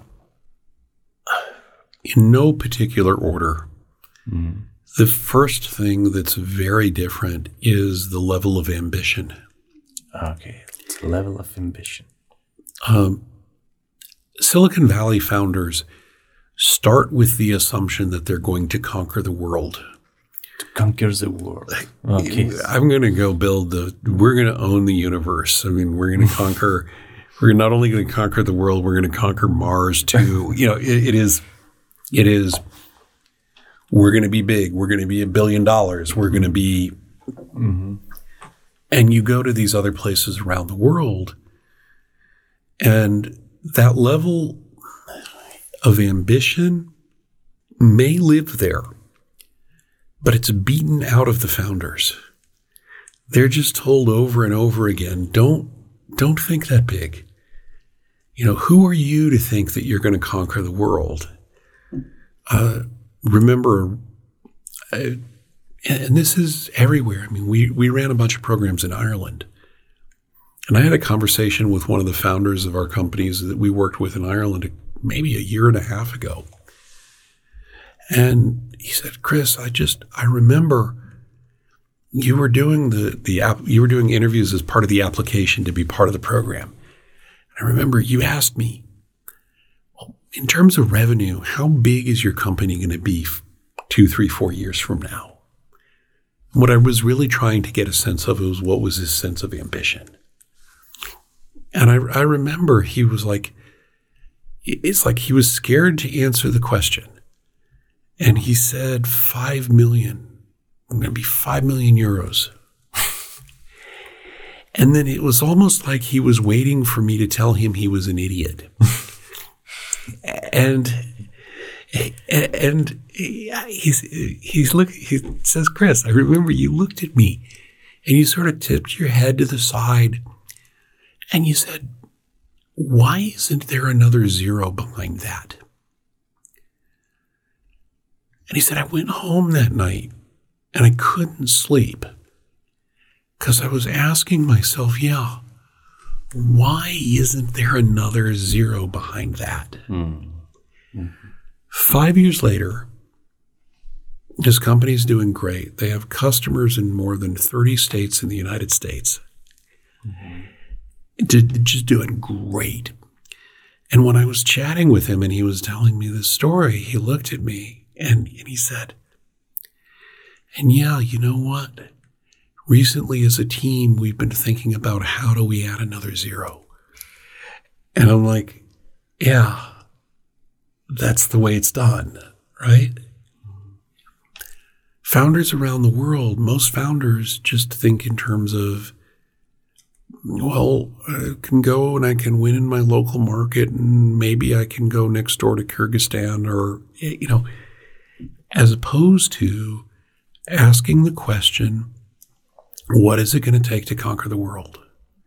in no particular order, mm. the first thing that's very different is the level of ambition. Okay, level of ambition. Um, Silicon Valley founders start with the assumption that they're going to conquer the world. To conquer the world. Okay. I'm going to go build the, we're going to own the universe. I mean, we're going to conquer, we're not only going to conquer the world, we're going to conquer Mars too. You know, it, it is, it is, we're going to be big. We're going to be a billion dollars. We're going to be, mm-hmm. and you go to these other places around the world, and that level of ambition may live there, but it's beaten out of the founders. They're just told over and over again, don't, don't think that big. You know, who are you to think that you're going to conquer the world? Uh, remember, uh, and this is everywhere. I mean, we, we ran a bunch of programs in Ireland. And I had a conversation with one of the founders of our companies that we worked with in Ireland maybe a year and a half ago. And he said, Chris, I just, I remember you were doing the, the app, you were doing interviews as part of the application to be part of the program. And I remember you asked me, well, in terms of revenue, how big is your company going to be two, three, four years from now? And what I was really trying to get a sense of was what was his sense of ambition. And I, I remember he was like, it's like he was scared to answer the question. And he said, five million. I'm going to be five million euros. And then it was almost like he was waiting for me to tell him he was an idiot. and and he's he's look he says, Chris, I remember you looked at me and you sort of tipped your head to the side and you said, why isn't there another zero behind that? And he said, I went home that night and I couldn't sleep because I was asking myself, yeah, why isn't there another zero behind that? Mm. Mm-hmm. Five years later, his company's doing great. They have customers in more than thirty states in the United States. Mm-hmm. Just doing great. And when I was chatting with him and he was telling me this story, he looked at me and, and he said, and yeah, you know what? Recently as a team, we've been thinking about how do we add another zero. And I'm like, yeah, that's the way it's done, right? Founders around the world, most founders just think in terms of, well, I can go and I can win in my local market and maybe I can go next door to Kyrgyzstan or, you know, as opposed to asking the question, What is it going to take to conquer the world?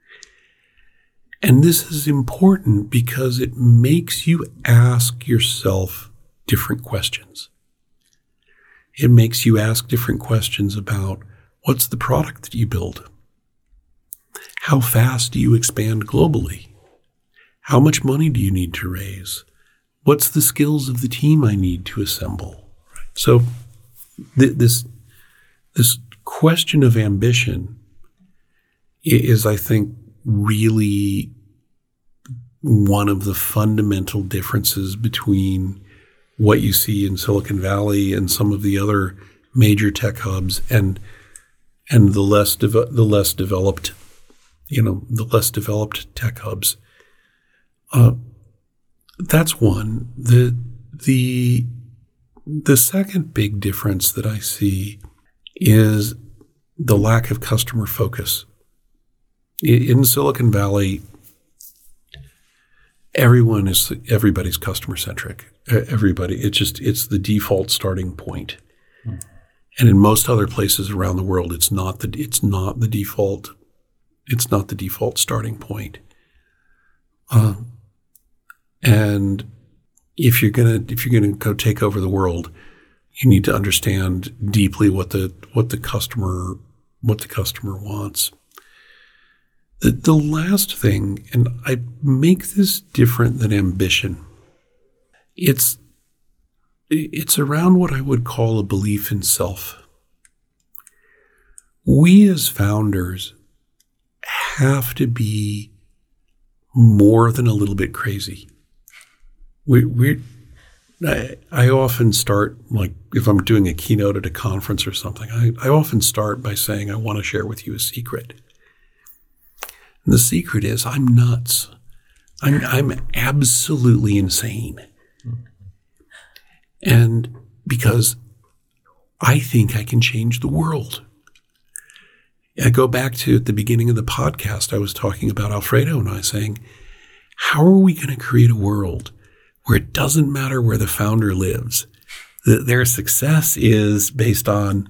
And this is important because it makes you ask yourself different questions. It makes you ask different questions about what's the product that you build? How fast do you expand globally? How much money do you need to raise? What's the skills of the team I need to assemble? So th- this, this question of ambition is, I think, really one of the fundamental differences between what you see in Silicon Valley and some of the other major tech hubs and and the less de- the less developed, you know, the less developed tech hubs. Uh, that's one. The the the second big difference that I see is the lack of customer focus. In Silicon Valley, everyone is everybody's customer centric. Everybody, it's just it's the default starting point. Mm. And in most other places around the world, it's not the it's not the default. It's not the default starting point. Uh, and if you're gonna if you're gonna go take over the world, you need to understand deeply what the what the customer what the customer wants. The, the last thing, and I make this different than ambition, it's it's around what I would call a belief in self. We as founders have to be more than a little bit crazy. We we I, I often start, like if I'm doing a keynote at a conference or something, I, I often start by saying I want to share with you a secret. And the secret is I'm nuts. I'm I'm absolutely insane. And because I think I can change the world. I go back to at the beginning of the podcast, I was talking about Alfredo and I saying, how are we going to create a world where it doesn't matter where the founder lives, that their success is based on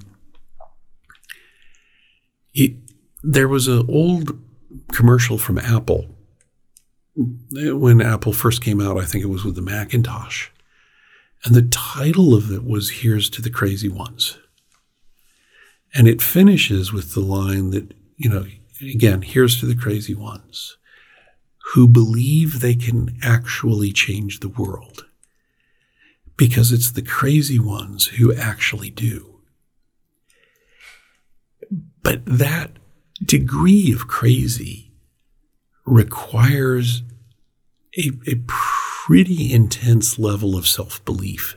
it? There was an old commercial from Apple. When Apple first came out, I think it was with the Macintosh. And the title of it was Here's to the Crazy Ones. And it finishes with the line that, you know, again, here's to the crazy ones who believe they can actually change the world. Because it's the crazy ones who actually do. But that degree of crazy requires a, a pretty intense level of self-belief.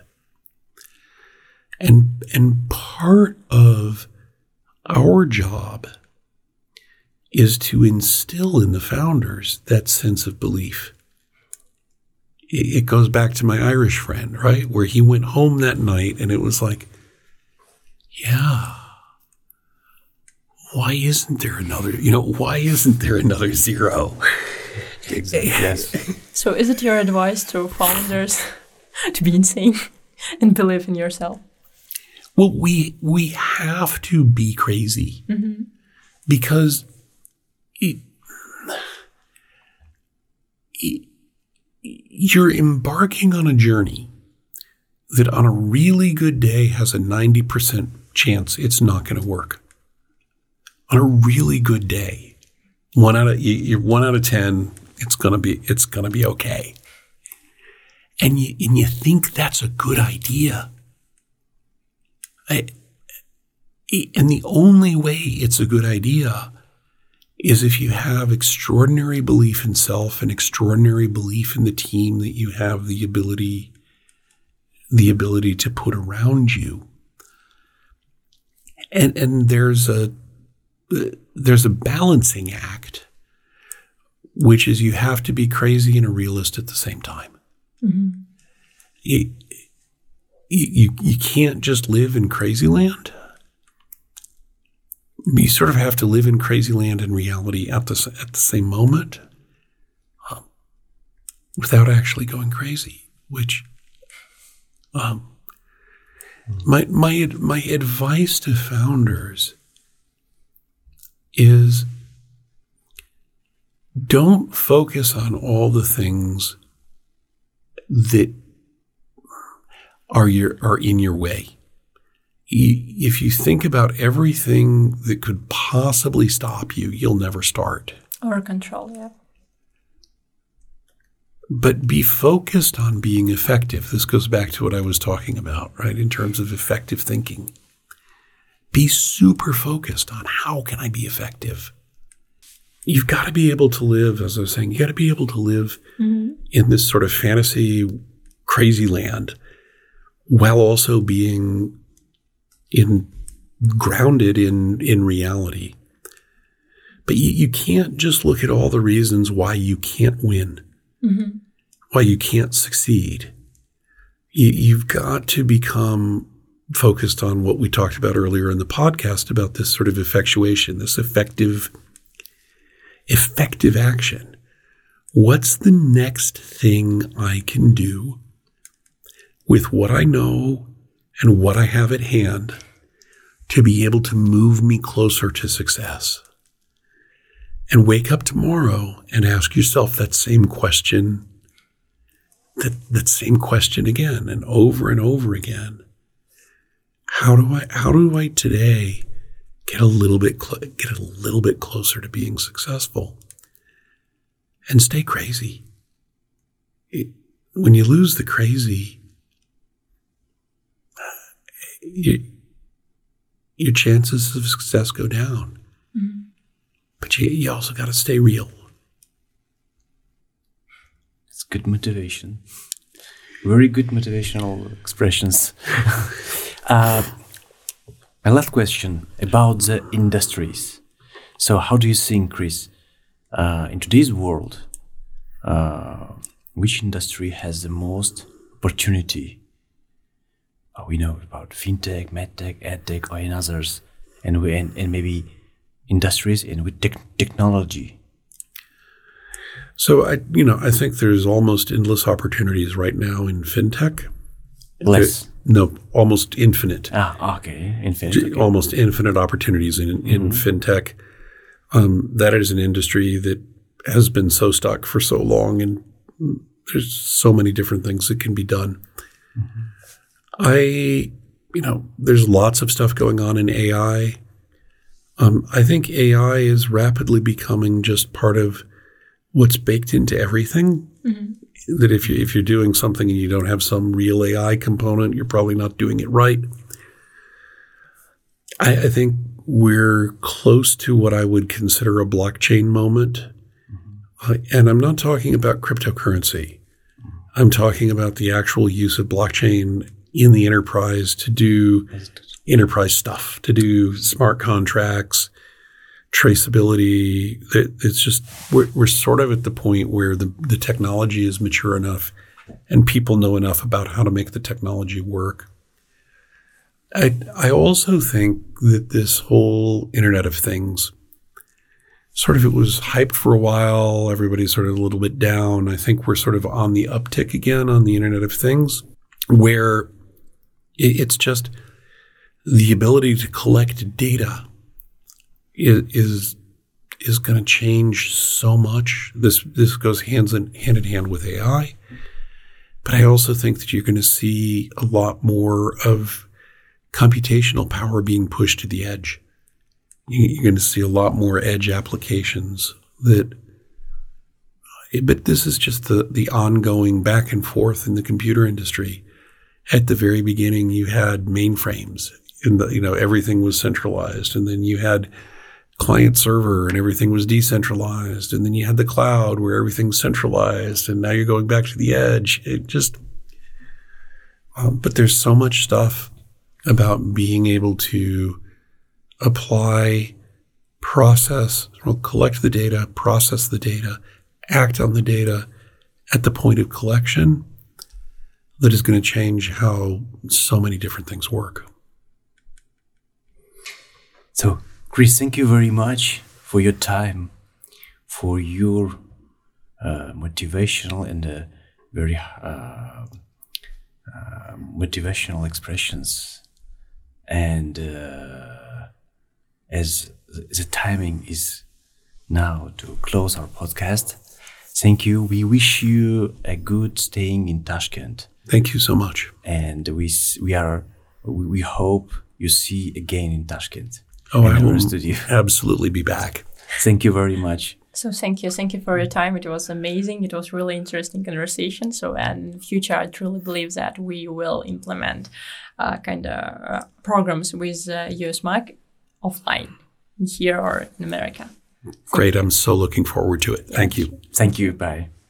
And, and part of our job is to instill in the founders that sense of belief. It, it goes back to my Irish friend, right? Where he went home that night and it was like, yeah, why isn't there another, you know, why isn't there another zero? Yes. So is it your advice to founders to be insane and believe in yourself? Well, we we have to be crazy mm-hmm. because it, it, you're embarking on a journey that on a really good day has a ninety percent chance it's not going to work. On a really good day, one out of you're one out of ten, it's gonna be it's gonna be okay. And you and you think that's a good idea. I, and the only way it's a good idea is if you have extraordinary belief in self and extraordinary belief in the team that you have the ability, the ability to put around you. And and there's a there's a balancing act, which is you have to be crazy and a realist at the same time. Mm-hmm. It, You, you can't just live in crazy land. You sort of have to live in crazy land and reality at the, at the same moment um, without actually going crazy, which um, my, my, my advice to founders is don't focus on all the things that are your are in your way. If you think about everything that could possibly stop you, you'll never start. Or control, yeah. But be focused on being effective. This goes back to what I was talking about, right, in terms of effective thinking. Be super focused on how can I be effective. You've got to be able to live, as I was saying, you got to be able to live mm-hmm. in this sort of fantasy, crazy land while also being in grounded in, in reality. But you, you can't just look at all the reasons why you can't win, mm-hmm. why you can't succeed. You, you've got to become focused on what we talked about earlier in the podcast about this sort of effectuation, this effective, effective action. What's the next thing I can do with what I know and what I have at hand to be able to move me closer to success? And wake up tomorrow and ask yourself that same question, that, that same question again and over and over again. How do I, how do I today get a little bit, cl- get a little bit closer to being successful? And stay crazy. It, when you lose the crazy, you, your chances of success go down. Mm-hmm. But you, you also got to stay real. It's good motivation. Very good motivational expressions. uh, my last question about the industries. So how do you think, Chris, uh, in today's world, uh, which industry has the most opportunity? Uh, we know about fintech, medtech, edtech, or in others, and we and, and maybe industries and with te- technology. So I, you know, I think there's almost endless opportunities right now in fintech. Less. There, no, almost infinite. Ah, okay, infinite. Okay. Almost infinite opportunities in in mm-hmm. fintech. Um, that is an industry that has been so stuck for so long, and there's so many different things that can be done. Mm-hmm. I, you know, there's lots of stuff going on in A I. Um, I think A I is rapidly becoming just part of what's baked into everything. Mm-hmm. That if you if you're doing something and you don't have some real A I component, you're probably not doing it right. I, I think we're close to what I would consider a blockchain moment. Mm-hmm. Uh, and I'm not talking about cryptocurrency. Mm-hmm. I'm talking about the actual use of blockchain in the enterprise to do enterprise stuff, to do smart contracts, traceability. It's just, we're, we're sort of at the point where the, the technology is mature enough and people know enough about how to make the technology work. I, I also think that this whole Internet of Things, sort of, it was hyped for a while. Everybody's sort of a little bit down. I think we're sort of on the uptick again on the Internet of Things, where it, it's just the ability to collect data is is, is going to change so much. This this goes hands in, hand in hand with A I. But I also think that you're going to see a lot more of computational power being pushed to the edge. You're going to see a lot more edge applications that, but this is just the, the ongoing back and forth in the computer industry. At the very beginning, you had mainframes, and the, you know, everything was centralized, and then you had client server and everything was decentralized, and then you had the cloud where everything's centralized, and now you're going back to the edge. It just, um, but there's so much stuff about being able to apply, process, well, collect the data, process the data, act on the data at the point of collection that is going to change how so many different things work. So, Chris, thank you very much for your time, for your uh, motivational and uh, very uh, uh, motivational expressions. And uh, as the timing is now to close our podcast. Thank you. We wish you a good staying in Tashkent. Thank you so much. And we s- we are we, we hope you see again in Tashkent. Oh, in I our will studio. absolutely be back. Thank you very much. So thank you, thank you for your time. It was amazing. It was really interesting conversation. So and in the future, I truly believe that we will implement uh, kind of uh, programs with uh, U S M A C offline here or in America. Great. I'm so looking forward to it. Thank you. Thank you. Bye.